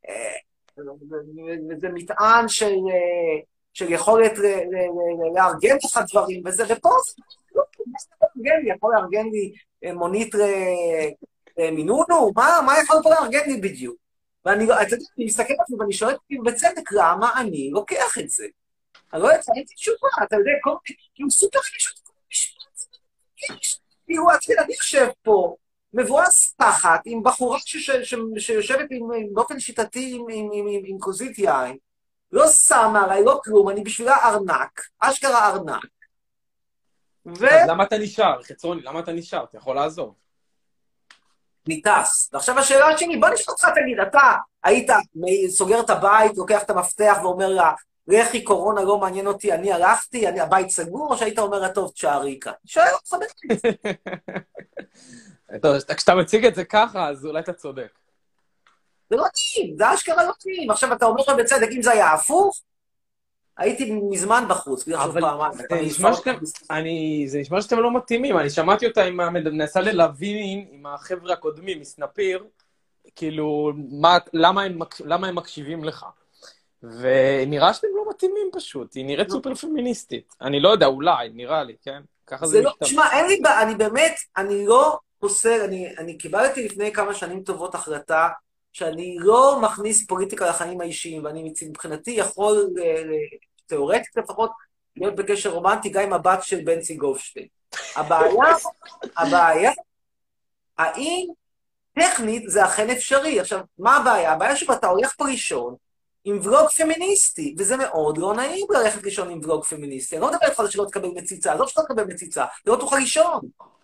וזה מטען של, של יכולת לארגן לך דברים, וזה, ופה זה לא לארגן לי, יכול לארגן לי מונית מינונו, מה, מה יכול פה לארגן לי בדיוק? ואני מסתכל על זה, ואני שואל בצדק, למה אני לוקח את זה? אני לא יודעת, הייתי תשובה, אתה יודע, כאילו סופר חגישות, כאילו, אני יושב פה, מבואס תחת, עם בחורה שיושבת באופן שיטתי עם כוסית יין, לא שמה עליי, לא כלום, אני בשבילה ארנק, אשכרה ארנק. אז למה אתה נשאר, חצרוני? למה אתה נשאר? אתה יכול לעזוב. ניטס. ועכשיו השאלה השני, בוא נשאר אותך, תגיד, אתה היית סוגר את הבית, לוקח את המפתח ואומר לה, לכי, קורונה לא מעניין אותי, אני הלכתי, אני הבית סגור, או שהיית אומר, טוב, תשארי כאן? שואל אותך בטח. טוב, כשאתה מציג את זה ככה, אז אולי אתה צודק. זה לא טעים, זה אשכרה לא טעים. עכשיו אתה אומר בצדק, אם זה היה הפוך, הייתי מזמן בחוץ, בגלל שוב פעם. זה נשמע שאתם לא מתאימים, אני שמעתי אותה, מנסה ללווין עם החבר'ה הקודמים, מסנפיר, כאילו, למה הם מקשיבים לך? ונראה שאתם לא מתאימים פשוט, היא נראית סופר פמיניסטית. אני לא יודע, אולי, נראה לי, כן? ככה זה משתמע. תשמע, אין לי, אני באמת, אני לא פוסל, אני קיבלתי לפני כמה שנים טובות החלטה, שאני לא מכניס פוליטיקה לחיים האישיים, ואני מבחינתי יכול, תיאורטית לפחות, להיות בקשר רומנטי גם עם הבת של בנצי גופשטיין. הבעיה, הבעיה, האם טכנית זה אכן אפשרי? עכשיו, מה הבעיה? הבעיה שאתה הולך פה ראשון, עם ולוג פמיניסטי, וזה מאוד לא נעים ללכת לישון עם ולוג פמיניסטי. אני לא מדבר איתך שלא תקבל מציצה, לא שלא תקבל מציצה, זה לא תוכל לישון.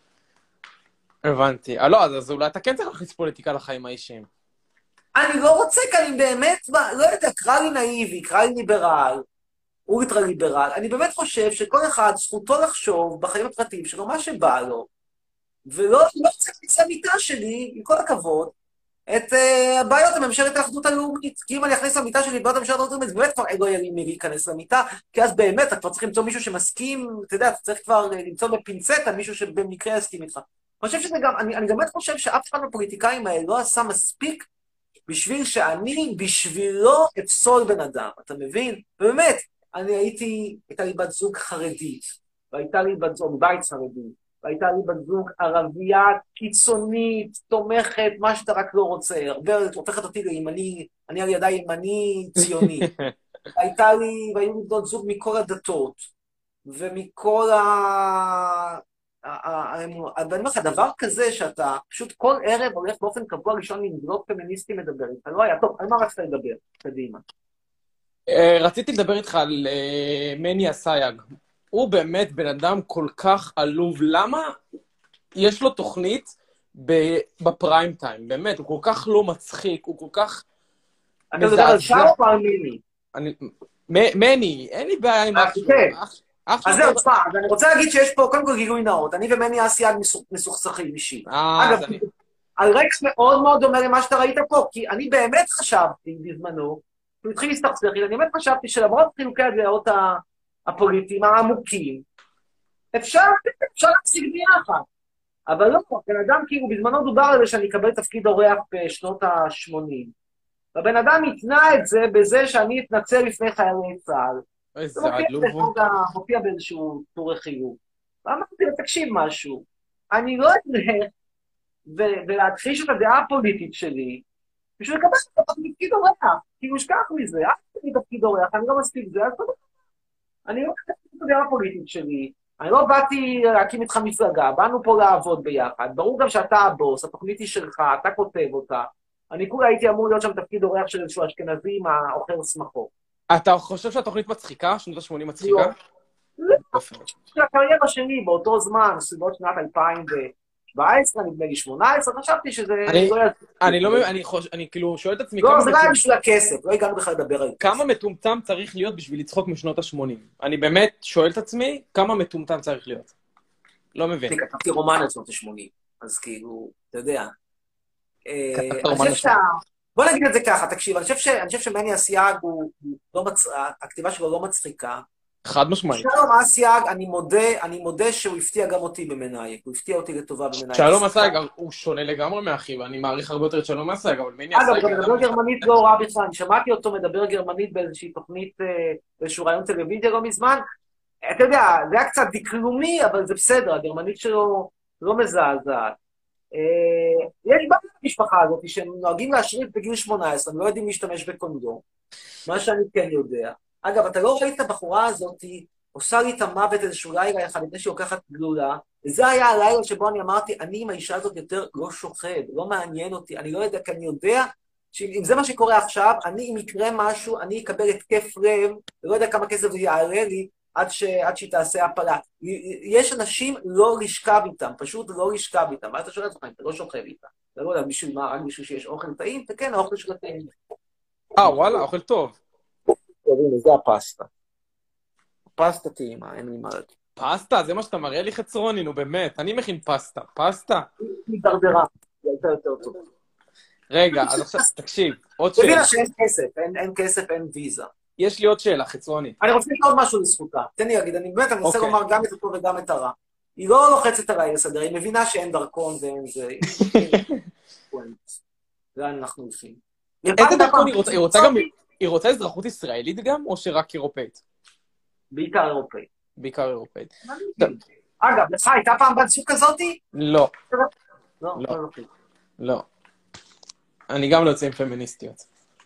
הבנתי. לא, אז אולי אתה כן צריך להכניס פוליטיקה לחיים האישיים. אני לא רוצה, כי אני באמת, לא יודע, קרא לי נאיבי, קרא לי ליברל, אולטרה ליברל. אני באמת חושב שכל אחד זכותו לחשוב בחיים הפרטיים שלו מה שבא לו, ולא צריך להכניס למיטה שלי, עם כל הכבוד, את הבעיות הממשלת האחדות הלאומית. כי אם אני אכניס למיטה שלי בעיות הממשלת האחדות הלאומית, באמת כבר לא יהיה לי מי להיכנס למיטה, כי אז באמת אתה כבר צריך למצוא מישהו שמסכים, אתה יודע, אתה צריך כבר למצוא בפינצטה מישהו שבמקרה יסכים איתך. אני חושב שזה גם, אני, אני באמת חושב שאף אחד מהפוליטיקאים האלה לא עשה מספיק בשביל שאני, בשבילו אפסול בן אדם, אתה מבין? ובאמת, אני הייתי, הייתה לי בת זוג חרדית, והייתה לי בת זוג בית חרדי, והייתה לי בת זוג ערבייה קיצונית, תומכת, מה שאתה רק לא רוצה, הרבה הופכת אותי לימני, אני על ידה ימני ציוני. הייתה לי, והיו לי בנות זוג מכל הדתות, ומכל ה... אני אומר לך, דבר כזה שאתה פשוט כל ערב הולך באופן קבוע ראשון עם בלוג פמיניסטי מדבר איתך, לא היה, טוב, על מה רצית לדבר? קדימה. רציתי לדבר איתך על מני אסייג. הוא באמת בן אדם כל כך עלוב. למה יש לו תוכנית בפריים טיים? באמת, הוא כל כך לא מצחיק, הוא כל כך... אתה מדבר על שער או על מני? מני, אין לי בעיה עם אח שלו. אז זהו, תשמע, ואני רוצה להגיד שיש פה, קודם כל גילוי נאות, אני ומני אסייג מסוכסכים אישי. אגב, על רקע מאוד מאוד דומה למה שאתה ראית פה, כי אני באמת חשבתי בזמנו, הוא התחיל להסתכסך, אני באמת חשבתי שלמרות חילוקי הדעות הפוליטיים העמוקים, אפשר להפסיק ביחד. אבל לא, בן אדם כאילו בזמנו דובר על זה שאני אקבל תפקיד אורח בשנות ה-שמונים. והבן אדם התנה את זה בזה שאני אתנצל לפני חיילי צה"ל. איזה עלוב. זה מופיע באיזשהו טור חיוב. ואמרתי לו, תקשיב משהו, אני לא אתנהל ולהכחיש את הדעה הפוליטית שלי בשביל לקבל את תפקיד אורח, כי הוא ישכח מזה, אל תפקיד תפקיד אורח, אני לא מספיק זה, אז תודה. אני לא חושב את הדעה הפוליטית שלי, אני לא באתי להקים איתך מפלגה, באנו פה לעבוד ביחד, ברור גם שאתה הבוס, התוכנית היא שלך, אתה כותב אותה, אני כולה הייתי אמור להיות שם תפקיד אורח של איזשהו אשכנזי עם האוכל שמחו. אתה חושב שהתוכנית מצחיקה? שנות ה-שמונים מצחיקה? לא, של הקריירה שלי באותו זמן, סביבות שנת אלפיים ושבע עשרה, נדמה לי שמונה עשרה, חשבתי שזה... אני לא מבין, אני כאילו שואל את עצמי... לא, זה לא היה בשביל הכסף, לא הגענו בכלל לדבר על זה. כמה מטומטם צריך להיות בשביל לצחוק משנות ה-שמונים? אני באמת שואל את עצמי, כמה מטומטם צריך להיות? לא מבין. אני כתבתי רומן על שנות ה-שמונים, אז כאילו, אתה יודע. אני חושב שה... בוא נגיד את זה ככה, תקשיב, אני חושב שמני אסייג, הכתיבה שלו לא מצחיקה. חד משמעית. שלום אסייג, אני מודה, אני מודה שהוא הפתיע גם אותי במנהיג, הוא הפתיע אותי לטובה במנהיג. שלום אסייג, הוא שונה לגמרי מאחי, ואני מעריך הרבה יותר את שלום אסייג, אבל מני אסייג... אגב, מדבר גרמנית לא רע בכלל, אני שמעתי אותו מדבר גרמנית באיזושהי תוכנית, באיזשהו רעיון טלוויזיה לא מזמן. אתה יודע, זה היה קצת דקלומי, אבל זה בסדר, הגרמנית שלו לא מזעזעת. יש בעיה במשפחה הזאת, שהם נוהגים להשריף בגיל שמונה עשרה, הם לא יודעים להשתמש בקונדום, מה שאני כן יודע. אגב, אתה לא ראית את הבחורה הזאת, היא עושה לי את המוות איזשהו לילה אחד, לפני שהיא לוקחת גלולה, וזה היה הלילה שבו אני אמרתי, אני עם האישה הזאת יותר לא שוחד, לא מעניין אותי, אני לא יודע, כי אני יודע שאם זה מה שקורה עכשיו, אני, אם יקרה משהו, אני אקבל התקף לב, ולא יודע כמה כסף זה יעלה לי, עד, ש... עד שהיא תעשה הפלה. יש אנשים לא לשכב איתם, פשוט לא לשכב איתם, ואז אתה שואל את זה, אתה לא שוכב איתם. אתה לא יודע, בשביל מה, רק בשביל שיש אוכל טעים, וכן, האוכל של הטעים. אה, וואלה, אוכל טוב. זה הפסטה. פסטה טעימה, אין לי מה להגיד. פסטה? זה מה שאתה מראה לי חצרוני, נו באמת, אני מכין פסטה. פסטה? היא דרדרה, היא הייתה יותר טוב. רגע, אז עכשיו, תקשיב, עוד שאלה. תבינה שאין כסף, אין כסף, אין ויזה. יש לי עוד שאלה, חצרוני. אני רוצה להגיד עוד משהו לזכותה. תן לי להגיד, אני באמת, אני רוצה לומר גם את הטוב וגם את הרע. היא לא לוחצת עליי לסדר, היא מבינה שאין דרכון ואין זה. זה אנחנו עושים. איזה דרכון היא רוצה? היא רוצה גם... היא רוצה אזרחות ישראלית גם, או שרק אירופאית? בעיקר אירופאית. בעיקר אירופאית. אגב, לך הייתה פעם בת זוג כזאתי? לא. לא. לא. אני גם לא יוצא עם פמיניסטיות.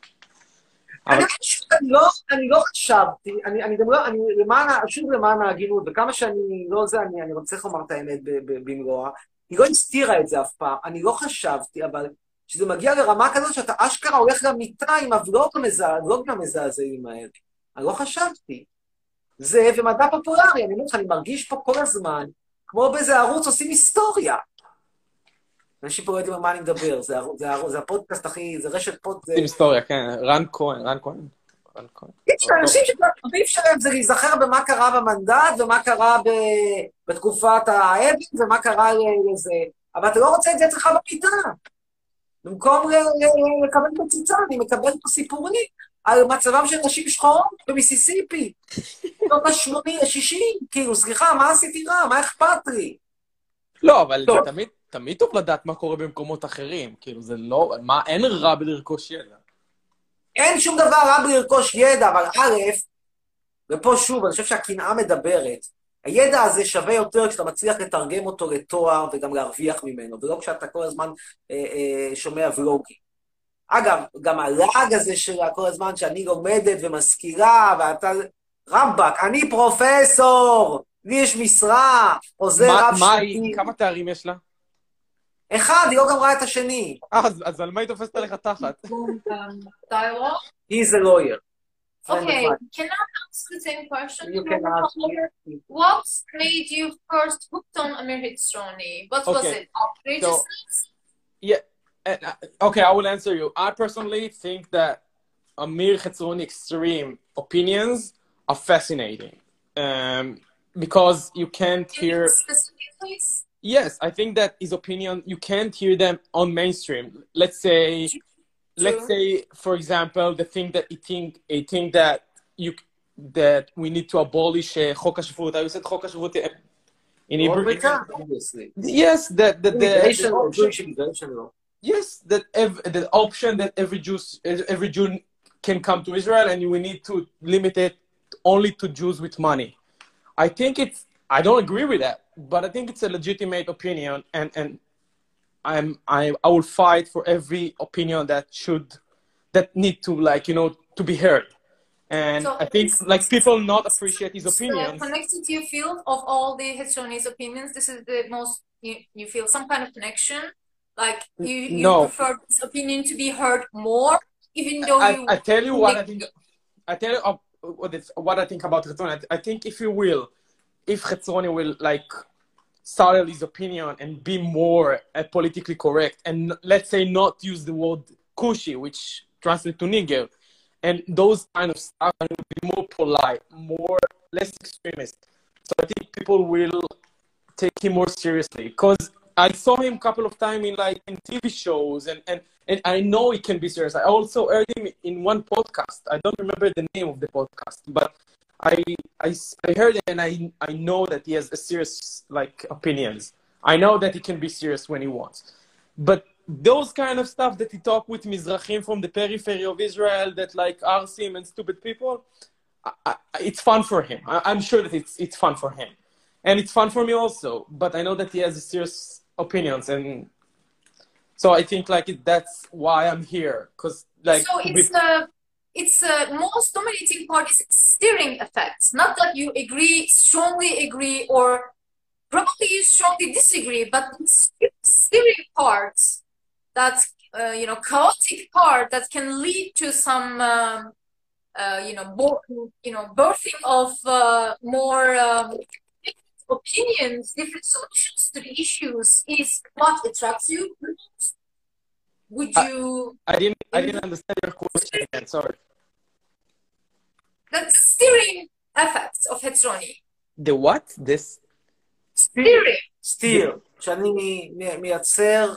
אני לא חשבתי, אני גם לא, אני שוב למען ההגינות, וכמה שאני לא זה, אני רוצה לומר את האמת במלואה, היא לא הסתירה את זה אף פעם, אני לא חשבתי, אבל... שזה מגיע לרמה כזאת שאתה אשכרה הולך למיטה עם הוולוגים המזעזעים האלה. אני לא חשבתי. זה ומדע פופולרי, אני אומר לך, אני מרגיש פה כל הזמן, כמו באיזה ערוץ עושים היסטוריה. אנשים פה לא יודעים על מה אני מדבר, זה הפודקאסט הכי, זה רשת פוד... עושים היסטוריה, כן, רן כהן, רן כהן. יש אנשים שהתפקיד שלהם זה להיזכר במה קרה במנדט, ומה קרה בתקופת האבן, ומה קרה לזה. אבל אתה לא רוצה את זה אצלך במיטה. במקום לקבל בציצה, אני מקבל פה סיפורים על מצבם של נשים שחורות במיסיסיפי. לא בשמונים, שישים, כאילו, סליחה, מה עשיתי רע? מה אכפת לי? לא, אבל תמיד טוב לדעת מה קורה במקומות אחרים. כאילו, זה לא... מה, אין רע בלרכוש ידע. אין שום דבר רע בלרכוש ידע, אבל א', ופה שוב, אני חושב שהקנאה מדברת. הידע הזה שווה יותר כשאתה מצליח לתרגם אותו לתואר וגם להרוויח ממנו, ולא כשאתה כל הזמן אה, אה, שומע ולוגים. אגב, גם הלעג הזה שלה כל הזמן שאני לומדת ומזכירה, ואתה... רמבק, אני פרופסור, לי יש משרה, עוזר רב שנתי. כמה תארים יש לה? אחד, היא לא גם רואה את השני. אז, אז על מה היא תופסת עליך תחת? He's a lawyer. Okay, can I ask the same question? You can ask me. What made you first hooked on Amir Hitsroni? What was Okay. it? Outrageousness? So, yeah, uh, okay, I will answer you. I personally think that Amir Hitsroni extreme opinions are fascinating. Um, because you can't hear... Specific, please? Yes, I think that his opinion, you can't hear them on mainstream. Let's say... Let's say, for example, the thing that he think, he think that you that we need to abolish uh, חוק השבות. I said חוק השבות in Hebrew. Obviously. Yes, that that the, Immigration the law, option, Jewish immigration law. yes, that ev the option that every Jew every Jew can come to Israel, and we need to limit it only to Jews with money. I think it's I don't agree with that, but I think it's a legitimate opinion, and and I'm I I will fight for every opinion that should that need to like you know to be heard. And So I think this like people not appreciate his is the opinions. connected to your field of all the Hetzroni's opinions. This is the most you, you feel some kind of connection. Like you you No, prefer this opinion to be heard more, even though I, you I tell you what I think think. I tell you uh, what, it's, what I think about Chetzoni. I, I think if you will, if Chetzoni will like settle his opinion and be more uh, politically correct, and let's say not use the word kushi, which translates to nigger, and those kind of stuff, and be more polite, more less extremist. So I think people will take him more seriously because I saw him a couple of times in like in T V shows, and, and, and I know he can be serious. I also heard him in one podcast. I don't remember the name of the podcast, but I, I, I heard it and I, I know that he has a serious like opinions. I know that he can be serious when he wants. But those kind of stuff that he talk with Mizrahim from the periphery of Israel that like arsim and stupid people, I, I, it's fun for him. I, I'm sure that it's, it's fun for him. And it's fun for me also, but I know that he has serious opinions, and so I think like it, that's why I'm here, because like so it's the uh, it's uh, most dominating part is steering effects. Not that you agree, strongly agree, or probably you strongly disagree, but it's steering parts that uh, you know chaotic part that can lead to some um, uh, you know bo- you know birthing of uh, more. Um, opinions, different solutions to the issues is what attracts you. Would you? I, I didn't. I didn't understand your question again. Sorry. The steering effects of Hetzroni. The what? This. steering. steer. שאני מייצר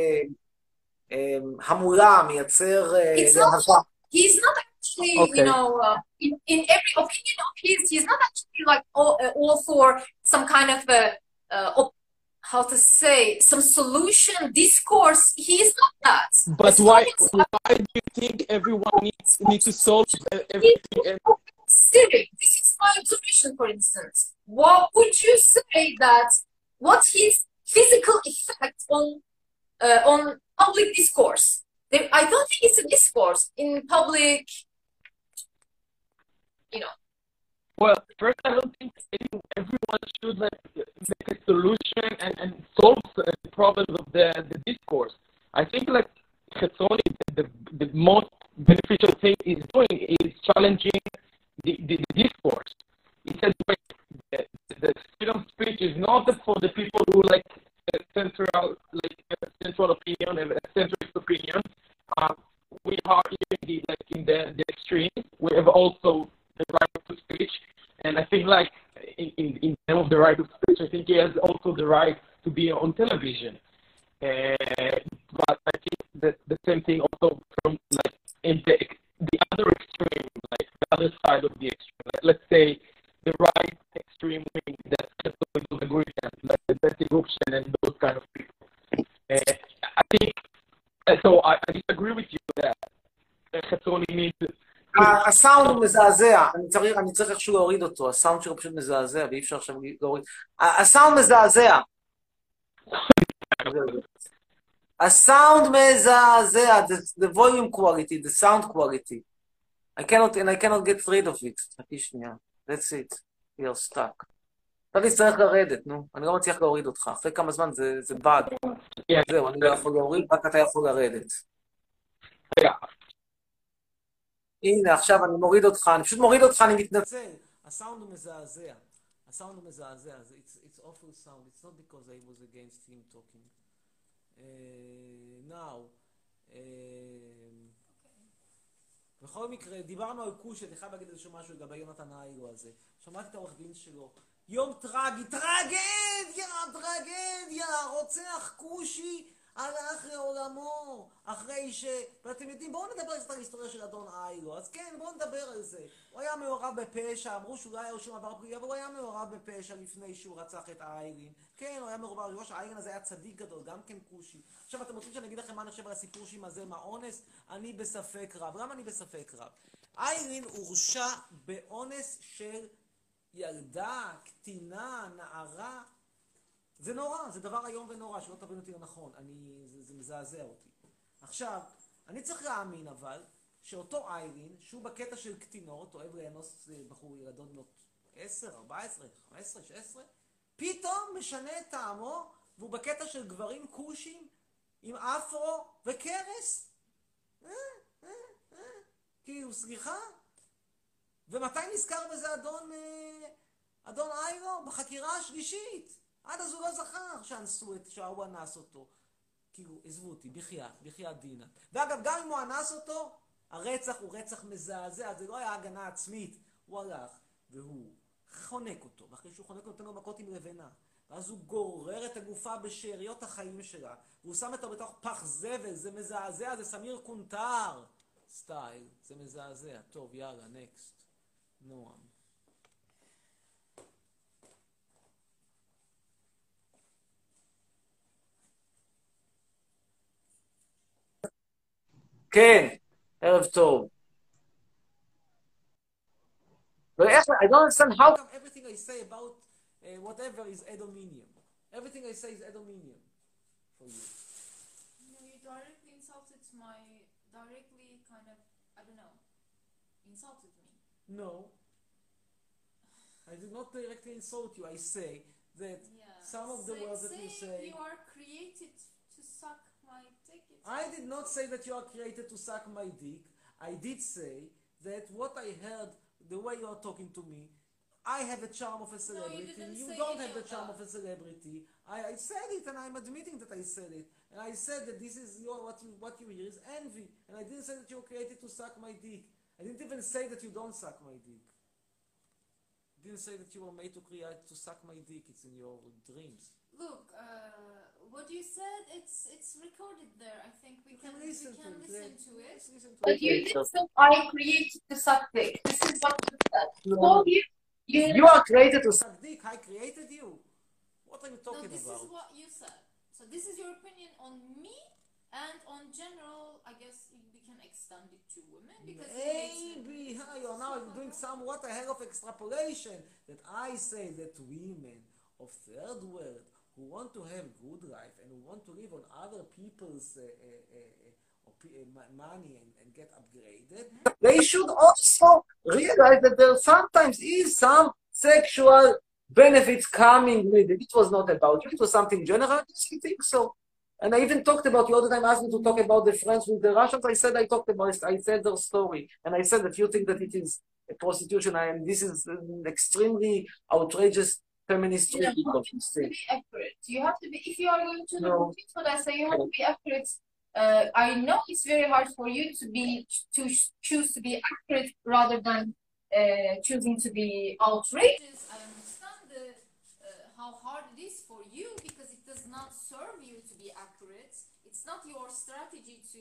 המולה, מייצר להבה. He's not actually, Okay. you know, uh, in, in every opinion of his, he's not actually like all, uh, all for some kind of a, uh, op- how to say, some solution discourse. He's not that. But As why? long as- Why do you think everyone needs needs to solve uh, everything? And Steering. This is my observation, for instance. What would you say that? What's his physical effect on uh, on public discourse? There, I don't think it's a discourse in public. You know. well, first, I don't think any, everyone should like make a solution and, and solve the problems of the, the discourse. I think like Chetzoni, the, the, the most beneficial thing he's doing is challenging the, the, the discourse. He said, wait, the, the freedom of speech is not for the people who like a central, like a central opinion and a centrist opinion. Uh, we are in the, like in the, the extreme. We have also the right to speech, and I think like in, in, in terms of the right of speech, I think he has also the right to be on television. Uh, but I think that the same thing also from like in the the other extreme, like the other side of the extreme. Like, let's say the right extreme wing that doesn't agree with, like the Betty Gupshen and those kind of people. Uh, I think uh, so. I, I disagree with you that Chetzoni needs. הסאונד הוא מזעזע, אני צריך, אני צריך איכשהו להוריד אותו, הסאונד שלו פשוט מזעזע, ואי אפשר עכשיו להוריד. הסאונד מזעזע. הסאונד מזעזע, the volume quality, the sound quality. I cannot, and I cannot get rid of it. חכי שנייה, that's it, you're stuck. אתה תצטרך לרדת, נו, אני לא מצליח להוריד אותך, אחרי כמה זמן זה, זה באג. זהו, אני לא יכול להוריד, רק אתה יכול לרדת. הנה, עכשיו אני מוריד אותך, אני פשוט מוריד אותך, אני מתנצל. הסאונד הוא מזעזע. הסאונד הוא מזעזע. It's, it's awful sound. It's not because I was against him talking. Uh, now, uh, בכל מקרה, דיברנו על קושי, אני חייב להגיד איזשהו משהו לגבי יונתן האילו הזה. שמעתי את העורך דין שלו. יום טרגי, טרגדיה, טרגדיה, רוצח קושי. הלך לעולמו, אחרי ש... ואתם יודעים, בואו נדבר קצת על ההיסטוריה של אדון איילו. אז כן, בואו נדבר על זה. הוא היה מעורב בפשע, אמרו שאולי היה לו שום עבר פלילי, אבל הוא היה מעורב בפשע לפני שהוא רצח את האיילין. כן, הוא היה מעורב, ראש האיילין הזה היה צדיק גדול, גם כן קושי. עכשיו, אתם רוצים שאני אגיד לכם מה אני חושב על הסיפור שעם הזה, מה אונס? אני בספק רב. למה אני בספק רב? איילין הורשע באונס של ילדה, קטינה, נערה, זה נורא, זה דבר איום ונורא, שלא תבין אותי נכון, אני, זה, זה מזעזע אותי. עכשיו, אני צריך להאמין אבל, שאותו איילין, שהוא בקטע של קטינות, אוהב לאנוס בחור ילדות בנות עשר, ארבע עשרה, חמש עשרה, שש עשרה, פתאום משנה את טעמו, והוא בקטע של גברים כושים, עם אפרו וקרס. אה, אה, אה, כאילו, סליחה? ומתי נזכר בזה אדון, אה, אדון איילו? בחקירה השלישית. עד אז הוא לא זכר שאנסו את, שההוא אנס אותו. כאילו, עזבו אותי, בחייאת, בחייאת דינה. ואגב, גם אם הוא אנס אותו, הרצח הוא רצח מזעזע, זה לא היה הגנה עצמית. הוא הלך, והוא חונק אותו, ואחרי שהוא חונק אותו, נותן לו מכות עם לבנה. ואז הוא גורר את הגופה בשאריות החיים שלה, והוא שם אותה בתוך פח זבל, זה מזעזע, זה סמיר קונטר. סטייל, זה מזעזע. טוב, יאללה, נקסט. נועם. כן, ערב טוב. I don't understand how come everything I say about uh, whatever is Edominium. Everything I say is Edominium for you. No, you directly insulted my, directly kind of, I don't know, insulted me. No. I did not directly insult you. I say that Yeah. some of the Say- words that you say... you are created to suck my dick. It's I did not say that you are created to suck my dick. I did say that what I heard, the way you are talking to me, I have a charm of a celebrity. didn't you say don't any have the of charm that. of a celebrity. I, I said it, and I'm admitting that I said it. And I said that this is your what you what you hear is envy. And I didn't say that you were created to suck my dick. I didn't even say that you don't suck my dick. I didn't say that you were made to create to suck my dick. It's in your dreams. Look, uh, what you said, it's it's recorded there. I think we can we listen can to it, listen yeah. to it. Let's listen to But it. you didn't say I created to suck dick. This is what you said. No. So you, you, You are created to suck dick. I created you. What are you No, talking this about? is what you said. So this is your opinion on me and on general. I guess we can extend it to women because it makes Maybe me- huh, you are now doing some what the hell of extrapolation that I say that women of third world who want to have good life and who want to live on other people's uh, uh, uh, uh, uh, money and, and get upgraded, they should also realize that there sometimes is some sexual benefits coming with it. It was not about you, it was something general. I just think so. And I even talked about, you all the time asked me to talk about the friends with the Russians. I said I talked about it, I said their story. And I said that you think that it is a prostitution, and this is an extremely outrageous feminist you know, treatment you of this have to thing. be accurate. You have to be, if you are going to No. repeat what I say, you have to be accurate. Uh, I know it's very hard for you to be, to choose to be accurate rather than uh, choosing to be outrageous. I understand the, uh, how hard it is for you because it does not serve you to be accurate. It's not your strategy to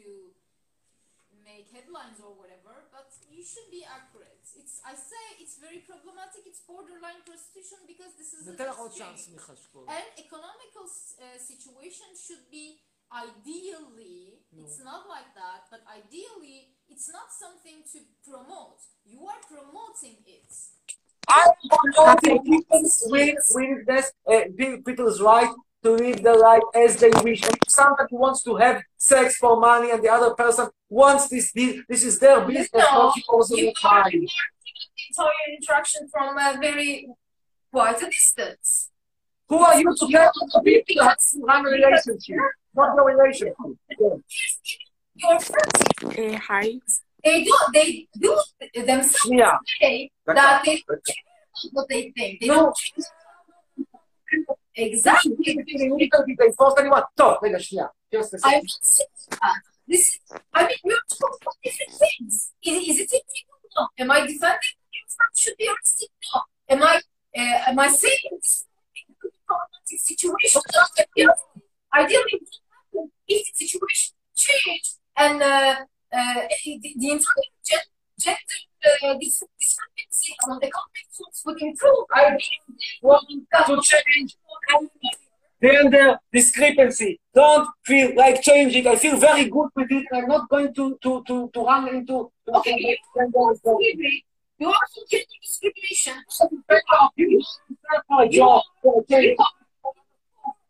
make headlines or whatever, but you should be accurate. It's I say it's very problematic. It's borderline prostitution because this is an ניתן לך עוד exchange. צ'אנס, מיכל שקול. And economical uh, situation should be ideally, it's not like that, but ideally, it's not something to promote. You are promoting it. I am promoting people's willingness, uh, people's right to live their life as they wish. And if somebody wants to have sex for money and the other person wants this, this, this is their business, No, not yours you or are mine. the entire interaction from a very quite a distance. Who are you to tell other people how to run a relationship? Not your relationship. Your friends, אה, היי. they do, they do themselves שנייה. say that they what they think. They No. don't exactly. they force anyone. טוב, רגע, שנייה. Just a I'm second. not saying that. This is, I mean, we're talking about different things. Is, is it illegal? No. Am I defending you should be arrested? No. Am I, uh, am I saying this is a problematic situation? No. Ideally, if the situation change and uh, uh, the, the entire gen- gender uh, dis- discrepancy on the conflict would improve, I want to change gender discrepancy. Don't feel like changing. I feel very good with it. I'm not going to to to, to run into. Okay, you you also gender discrimination. You my job.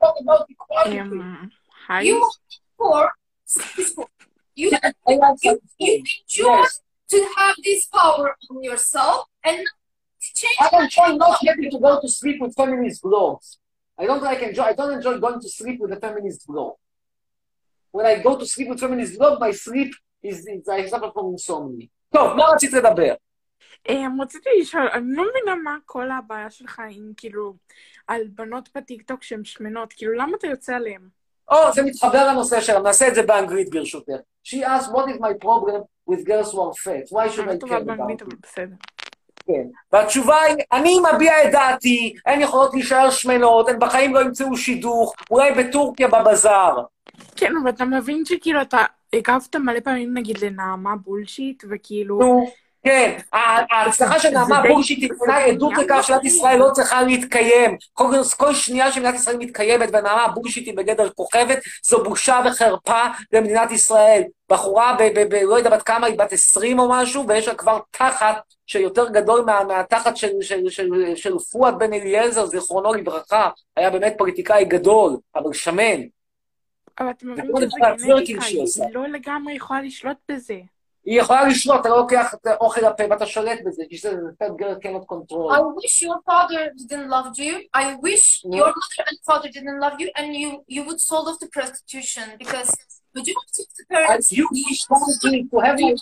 talk about equality. Um, hi. You for you, I like you, that. you enjoy Yes. to have this power on yourself and not to change. I enjoy not having to go to sleep with feminist blogs. I don't like enjoy. I don't enjoy going to sleep with a feminist blog. When I go to sleep with feminist blog, my sleep is, is I suffer from insomnia. טוב, מה רצית לדבר? Um, רציתי לשאול, אני לא מבינה מה כל הבעיה שלך עם כאילו על בנות בטיקטוק שהן שמנות, כאילו למה אתה יוצא עליהן? או, זה מתחבר לנושא שלה, נעשה את זה באנגלית ברשותך. She asked, what is my problem with girls who are fat? Why should I care about it? בסדר. כן. והתשובה היא, אני מביע את דעתי, הן יכולות להישאר שמנות, הן בחיים לא ימצאו שידוך, אולי בטורקיה בבזאר. כן, אבל אתה מבין שכאילו אתה הגבת מלא פעמים נגיד לנעמה בולשיט, וכאילו... נו, כן, ההצלחה של נעמה בולשיט היא עדות לכך שמדינת ישראל לא צריכה להתקיים. כל שנייה שמדינת ישראל מתקיימת ונעמה בולשיט היא בגדר כוכבת, זו בושה וחרפה למדינת ישראל. בחורה, לא יודע בת כמה, היא בת עשרים או משהו, ויש לה כבר תחת שיותר גדול מהתחת של פואד בן אליעזר, זיכרונו לברכה, היה באמת פוליטיקאי גדול, אבל שמן. אבל אתה מבין שזה גנטיקה, היא לא לגמרי יכולה לשלוט בזה. היא יכולה לשלוט, אתה לא לוקח את האוכל לפה ואתה שולט בזה, כי זה fat girl cannot control. I wish your father didn't love you. I wish No. your mother and father didn't love you, and you you would sold off to prostitution because majority of the parents. You wish something to have you.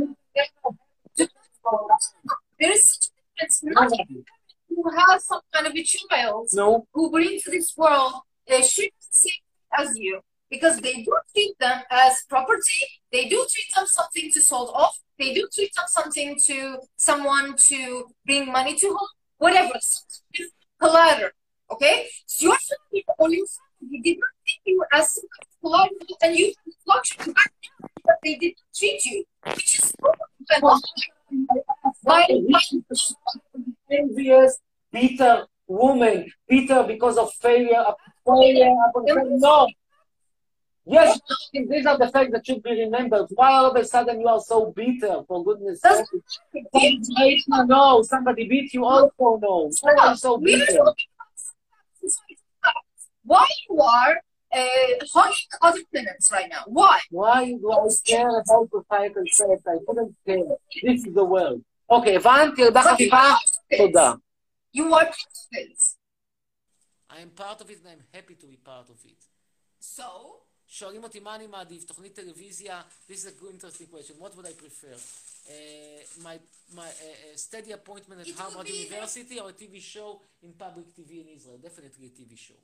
There is such a difference. Not every parent who has some kind of a child No. who bring to this world uh, should be the same as you. Because they do treat them as property, they do treat them something to sold off, they do treat them something to someone to bring money to home, whatever, collateral, okay? So your family or your family did not treat you as some kind of collateral, and you fluctuate back down because they did not treat you, which is why envious, bitter woman, bitter because of failure, failure, no. Yes, these are the facts that should be remembered. Why all of a sudden you are so bitter, for goodness sake? No, somebody beat you also, no. Why are you so bitter? Why you are uh, hugging other parents right now? Why? Why do I care about societal sex? I couldn't care. This is the world. Okay, הבנתי, תודה חביבה. תודה. You are part of it. I am part of it and I'm happy to be part of it. So? שואלים אותי מה אני מעדיף, תוכנית טלוויזיה, this is a good interesting question, what would I prefer? Uh, my my uh, steady appointment at It Harvard be University or a T V show in public T V in Israel? Definitely a T V show.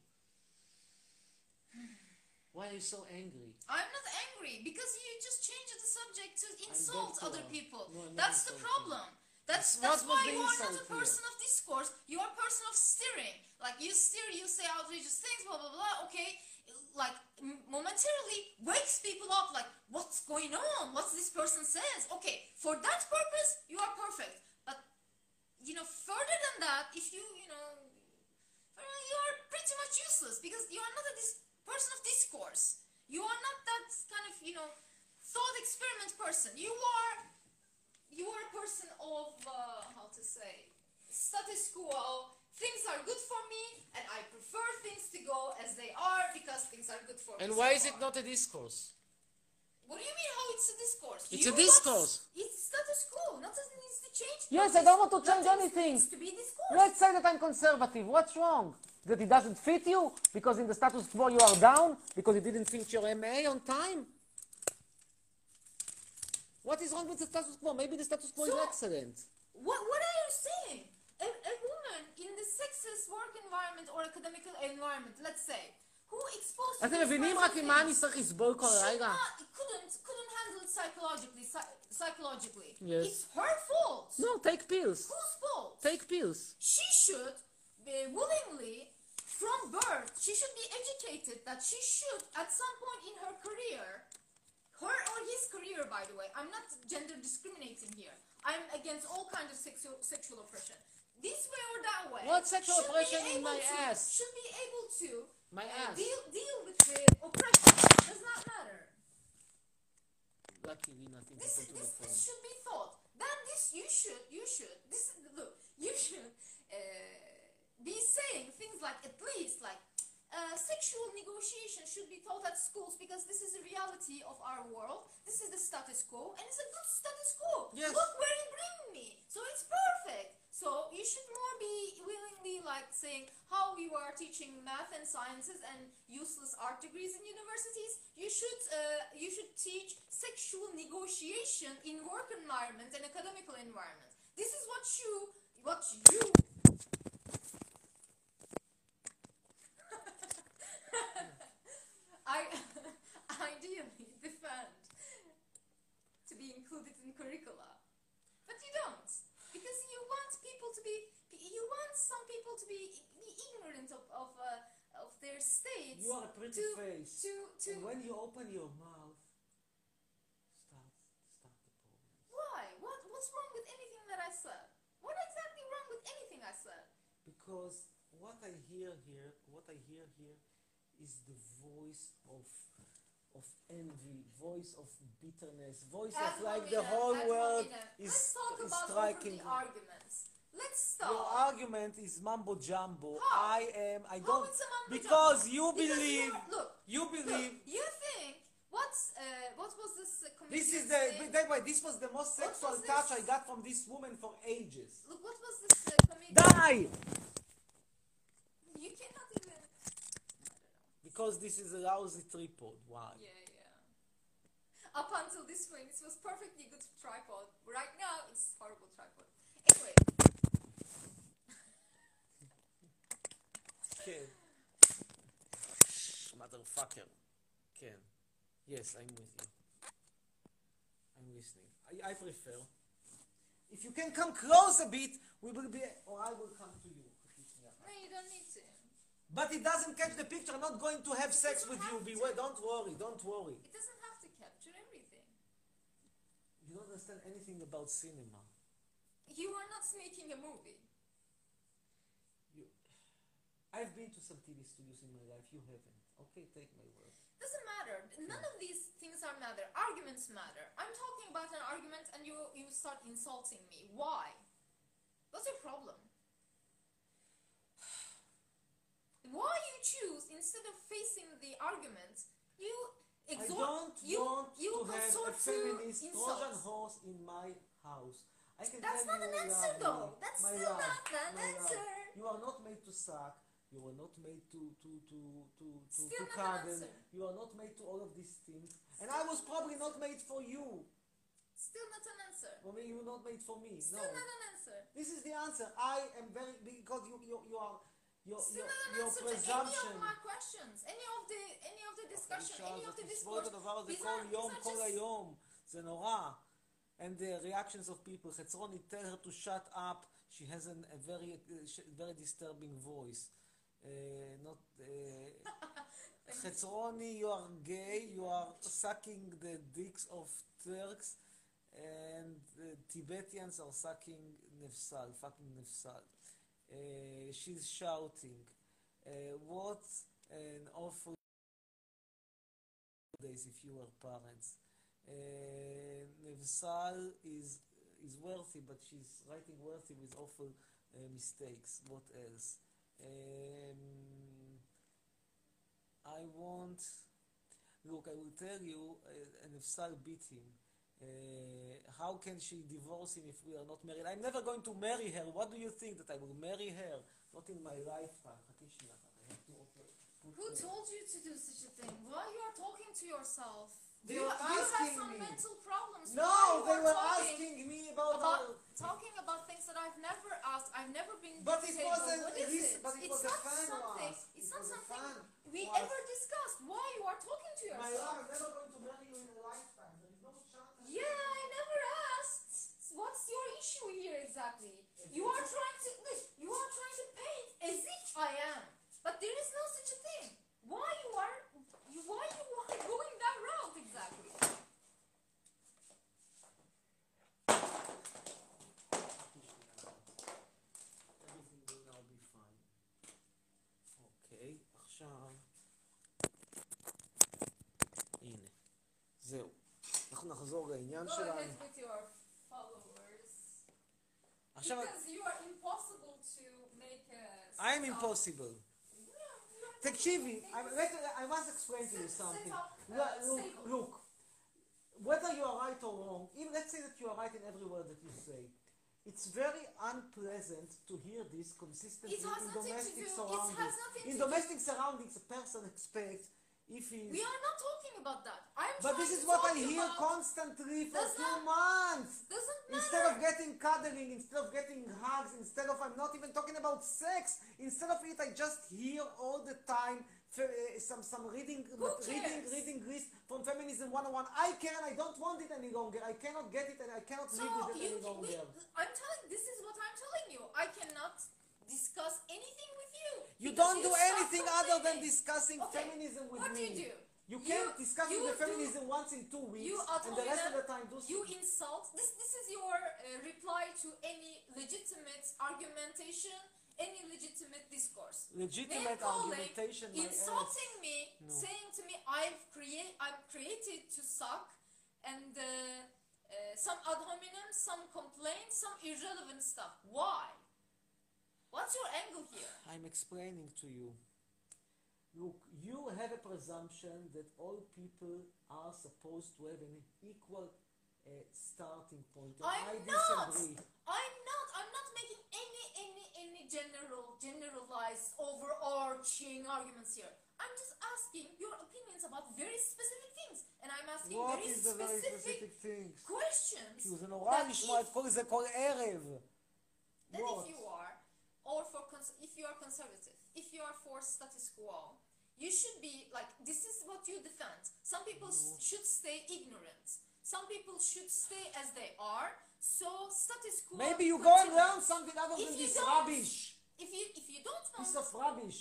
Why are you so angry? I'm not angry, because you just changed the subject to insult other people. No, that's the problem. That's that's why you are not a person here? of discourse, you are a person of steering. Like you steer, you say outrageous things, blah blah blah, okay. Like momentarily wakes people up, like what's going on, what this person says. Okay, for that purpose you are perfect, but you know further than that, if you you know you are pretty much useless, because you are not a dis person of discourse, you are not that kind of you know thought experiment person. You are you are a person of uh, how to say status quo. Things are good for me, and I prefer things to go as they are because things are good for me. And why is it not a discourse? What do you mean how it's a discourse? It's you a discourse. Want, it's status quo. Nothing needs to change. Yes, I don't want to change anything. Needs to be discourse. Let's say that I'm conservative. What's wrong? That it doesn't fit you? Because in the status quo you are down? Because you didn't finish your M A on time? What is wrong with the status quo? Maybe the status quo so, is excellent. What, what are you saying? A, a woman in the sexist work environment or academic environment, let's say, who exposed to אתם מבינים רק עם מה אני צריך לסבול כל הלילה? couldn't couldn't handle it psychologically psychologically. Yes. It's her fault. No, take pills. Whose fault? Take pills. She should be willingly, from birth, she should be educated that she should, at some point in her career, her or his career, by the way, I'm not gender discriminating here. I'm against all kinds of sexual sexual oppression. This way or that way. What sexual oppression in my to, ass? Should be able to my uh, ass. deal deal with the oppression. Does not matter. Lucky we nothing this, to this, the this should be thought. Then this you should you should this look you should uh, be saying things like at least like uh, sexual negotiation should be taught at schools because this is the reality of our world. This is the status quo, and it's a good status quo. Yes. Look where you bring me. So it's perfect. So you should more be willingly like saying how you are teaching math and sciences and useless art degrees in universities. You should uh, you should teach sexual negotiation in work environment and academical environment. This is what you what you I ideally defend to be included in curricula, but you don't, because you want people to be, you want some people to be, be ignorant of of, uh, of their states. You are a pretty to, face. To, to And when you open your mouth, start, start the problem. Why? What? What's wrong with anything that I said? What exactly wrong with anything I said? Because what I hear here, what I hear here, is the voice of of envy, voice of bitterness, voice Ad of like hominem, the whole ad world hominem. is, Let's talk is about striking. over the arguments. Let's stop. Your argument is mumbo jumbo. How? I am. I How don't. it's a mumbo Because jumbo? you Because believe. you, look, You believe. Look, you think what's uh, what was this uh, comedian This is the. saying? That way, this was the most What sexual was touch this? I got from this woman for ages. Look, what was this uh, comedian? Die! You cannot even. Because this is a lousy tripod. Why? Yeah, yeah. Up until this point, it was perfectly good tripod. Right now, it's horrible tripod. Anyway. Ken. Shh, motherfucker. Ken. Yes, I'm with you. I'm listening. I, I prefer. If you can come close a bit, we will be, or I will come to you. No, you don't need to. But it doesn't catch the picture. I'm not going to have sex with you. Beware. Don't worry. Don't worry. It doesn't have to capture everything. You don't understand anything about cinema. You are not making a movie. You, I've been to some T V studios in my life. You haven't. Okay, take my word. Doesn't matter. None of these things are matter. Arguments matter. I'm talking about an argument and you you start insulting me. Why? What's your problem? Why you choose, instead of facing the argument, you exhort, I don't you, want you to have a consort to feminist Trojan insults. horse in my house. I can That's tell not you an answer, lovely, though. That's my still love, not an my love, answer. You are not made to suck. You are not made to to to to to, Still to not an cuddle. answer. You are not made to all of these things. And I was probably not made for you. Still not an answer. For me, you were not made for me. Still No. not an answer. This is the answer. I am very because you you you are your Still your, not an your answer to any presumption. of my questions, any of the any of the discussion, any of the בסביבות discourse. הדבר הזה These כל are, יום, these are כל just היום. זה נורא. And the reactions of people. חצרוני, tell her to shut up. She has an, a very uh, sh- very disturbing voice. Uh, not. Uh, חצרוני, you are gay. You are sucking the dicks of Turks, and uh, Tibetans are sucking nefsal, fucking nefsal. Uh, she's shouting. Uh, what an awful days if you were parents. Uh, Nevsal is is worthy, but she's writing worthy with awful uh, mistakes. What else? Um, I want. Look, I will tell you, uh, Nevsal beat him. Uh, how can she divorce him if we are not married? I'm never going to marry her. What do you think, that I will marry her? Not in my lifetime. Who told you to do such a thing? Why you are talking to yourself? They you, were you have asking some me. mental problems. No, Why you they are were talking asking me about, about our- talking about things that I've never asked. I've never been. But to it the table. wasn't- What is listen, it? but it it's was a not fan something. was. It's It not was a something fan we was. ever discussed. Why you are talking to My yourself? love, I'm never going to marry you in a lifetime. There is no chance. Yeah, I never asked. What's your issue here exactly? You are trying to look. You are trying to paint as if I am, but there is no such a thing. Why you are? You, why you are going that route exactly? Everything will now be fine. אוקיי, עכשיו... הנה. זהו. אנחנו נחזור לעניין Go שלנו. ahead with your followers. עכשיו... Because you are impossible to make a. I'm impossible. תקשיבי, I must explain to you something. Look, look, whether you are right or wrong, even let's say that you are right in every word that you say, it's very unpleasant to hear this consistently in domestic surroundings. In domestic surroundings, a person expects if he's... We are not talking about that. I'm But this is what I hear constantly for two months. Doesn't matter. Instead of getting cuddling, instead of getting hugs, instead of, I'm not even talking about sex, instead of it, I just hear all the time fe- uh, some some reading, reading, reading list from Feminism one oh one. I can, I don't want it any longer. I cannot get it and I cannot So live with it you, any longer. we, I'm telling, this is what I'm telling you. I cannot discuss anything with you. You because don't do stop anything other than complaining. discussing Okay, feminism with what me. do you do? You can't You- discuss you with the do- feminism once in two weeks You and the rest of the time do You insult. This this is your uh, reply to any legitimate argumentation, any legitimate discourse. Legitimate Name calling, argumentation, my insulting ass. me, No. saying to me, "I've create, I'm created to suck," and uh, uh, some ad hominem, some complaints, some irrelevant stuff. Why? What's your angle here? I'm explaining to you. Look, you have a presumption that all people are supposed to have an equal uh, starting point. And I'm I not. disagree. I'm not. I'm not making any any any general generalized overarching arguments here. I'm just asking your opinions about very specific things, and I'm asking What very is the very specific, specific things? questions. כי זה נורא that לשמוע את if- כל זה כל ערב. that What? if you are, or for cons- if you are conservative, if you are for status quo, you should be like, this is what you defend. Some people s- should stay ignorant. Some people should stay as they are. So status quo. Maybe you go and continues. learn something other If than you this don't- rubbish. If you if you don't want, Piece of rubbish.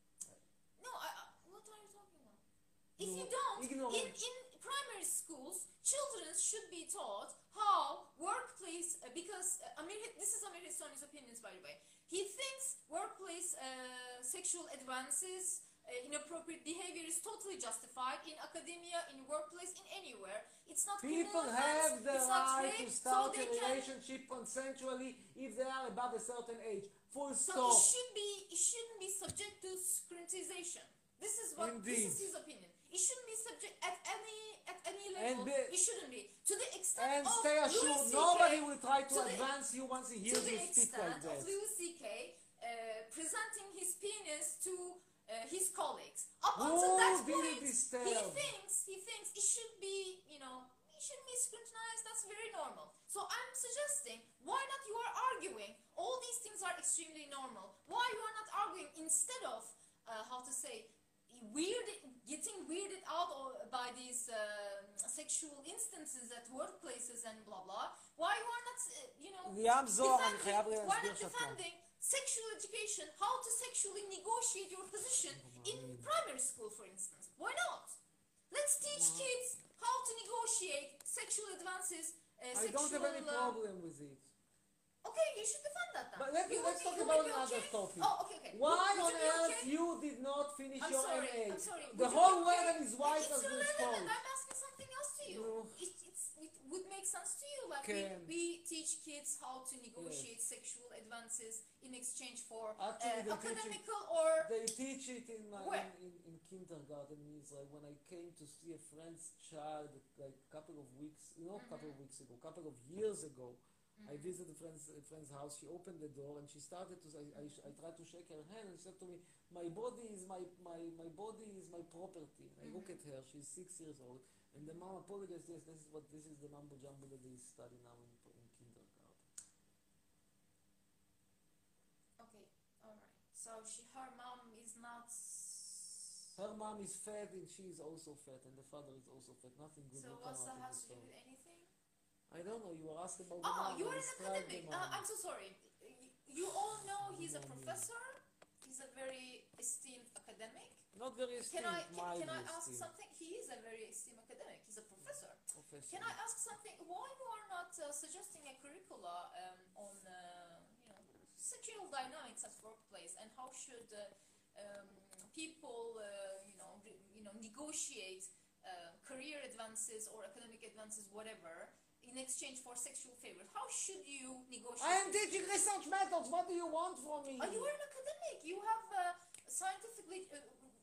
no, I, I, what are you talking about? If No, you don't, ignorant. in, in primary schools, children should be taught how workplace, uh, because uh, Amir, this is Amir Hissani's opinions, by the way. He thinks workplace uh, sexual advances, uh, inappropriate behavior is totally justified in academia, in workplace, in anywhere. It's not People criminal offense, have the it's not right rape, to so start they a can. relationship consensually if they are above a certain age. Full So stop. it should be, it shouldn't be subject to scrutinization. This is what Indeed. this is his opinion. It shouldn't be subject at any at any level. And be- it shouldn't be to the extent And of stay Louis assured, C K nobody will try to, to the- advance you once he to hears the you speak like extent that. of Louis C K uh, presenting his penis to uh, his colleagues. Up Who until that will be point, he disturbed? thinks he thinks it should be, you know, it shouldn't be scrutinized. That's very normal. So I'm suggesting, why not you are arguing? All these things are extremely normal. Why you are not arguing instead of uh, how to say weird, getting weirded out or by these uh, sexual instances at workplaces and blah blah. Why you are not, uh, you know, ליאם זוהר, אני defending- חייב why להסביר not שאת לא. defending sexual education, how to sexually negotiate your position in primary school, for instance? Why not? Let's teach kids how to negotiate sexual advances. Uh, I sexual, don't have any uh, problem with it. Okay, you should defend that then. But let me, You let's will talk be- you about will be another okay? topic. Oh, okay, okay. Why Would- on would you be earth okay? you did not finish I'm your sorry, M A? I'm sorry. The Would you whole be world okay? is white It's as this relevant, coat. and I'm asking something else to you. It, it's, it would make sense to you. Like we, Can. we teach kids how to negotiate sexual advances in exchange for Actually, uh, they teach it- academical or They teach it in, my, Where? in, in, in kindergarten in Israel. When I came to see a friend's child like a couple of weeks, not a couple of weeks ago, a couple of years ago, I visited a friend's, a friend's house. She opened the door and she started to. I, I, I tried to shake her hand and she said to me, "My body is my my my body is my property." And I look at her. She's six years old, and the mom apologized. Yes, this is what this is the mumbo jumbo that they study now in, in kindergarten. okay, all right. So she, her mom is not. Her mom is fat and she is also fat, and the father is also fat. Nothing good So will come what's out that of has this to do story. with anything? I don't know. You were asked about the Oh, mom. you're I an described the academic. mom. Uh, I'm so sorry. You, you all know he's a professor. He's a very esteemed academic. Not very Can I esteemed, can, can I mildly ask esteemed. something? He is a very esteemed academic. He's a professor. Professor. Can I ask something? Why you are not uh, suggesting a curricula um, on uh, you know sexual dynamics at workplace and how should uh, um, people uh, you know re- you know negotiate uh, career advances or academic advances, whatever, in exchange for sexual favors? How should you negotiate? I am teaching research methods. What do you want from me? Uh, you are an academic. You have uh, scientifically uh,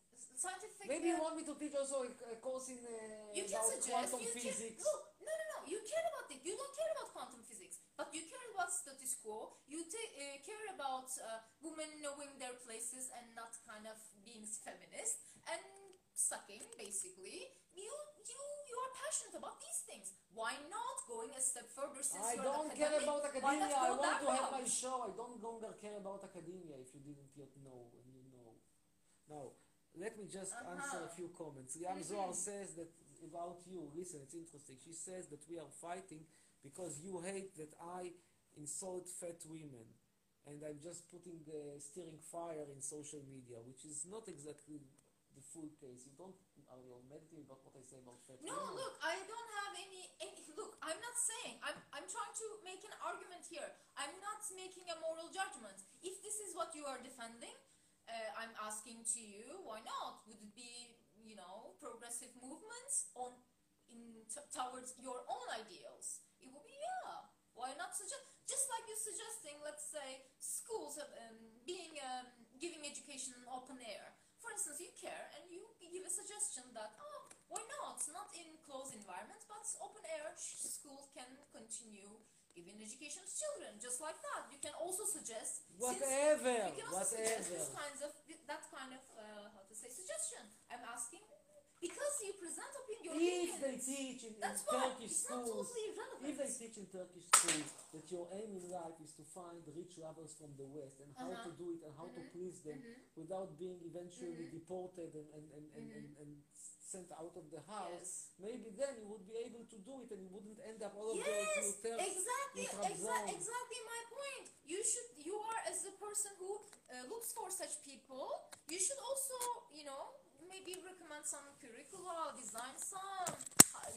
scientific. Maybe you uh, want me to teach also a, a course in uh, You can about suggest. quantum You can physics. look. No, no, no. You care about it. You don't care about quantum physics, but you care about status quo. You ta- uh, care about uh, women knowing their places and not kind of being feminist and sucking, basically. You, you, you are passionate about these things. Why not going a step further? Since I you're don't an care academic, about why not academia. I go want that to have my route? show. I don't longer care about academia if you didn't yet know and you know. Now, let me just Uh-huh. answer a few comments. Liam Mhm. Zohar says that about you, listen, it's interesting. She says that we are fighting because you hate that I insult fat women. And I'm just putting, uh, stirring fire in social media, which is not exactly the full case. You don't, are you meditating about what I say about fat No, women? look, I don't have any, any. Look, I'm not saying. I'm. I'm trying to make an argument here. I'm not making a moral judgment. If this is what you are defending, uh, I'm asking to you, why not? Would it be, you know, progressive movements on, in t- towards your own ideals? It would be yeah. Why not suggest? Just like you're suggesting, let's say, schools have, um, being um, giving education in open air. For instance, you care and you give a suggestion that, oh, why not? Not in closed environments, but open air schools can continue giving education to children, just like that. You can also suggest Whatever, Since, you can also suggest whatever. this kinds of that kind of uh, how to say suggestion. I'm asking because you present opinion. Your If opinions. they teach in, in That's why Turkish it's not schools, totally irrelevant. if they teach in Turkish schools that your aim in life is to find rich lovers from the West and how Uh-huh. to do it and how Mhm. to please them Mhm. without being eventually Mhm. deported and, and, and, and, Mhm. and, and sent out of the house, Yes. maybe then you would be able to do it and you wouldn't end up all of Yes, those little terms exactly, in exa- Trabzon. exactly my point. You should, you are as a person who uh, looks for such people. You should also, you know, maybe recommend some curricula, design some. Uh,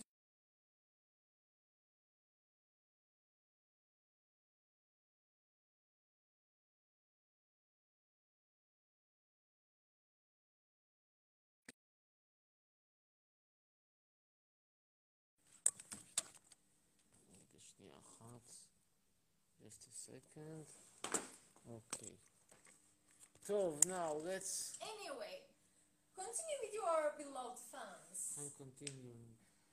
שנייה אחת. Just a second. Okay. טוב, now let's... Anyway, continue with your beloved fans. I'm continuing.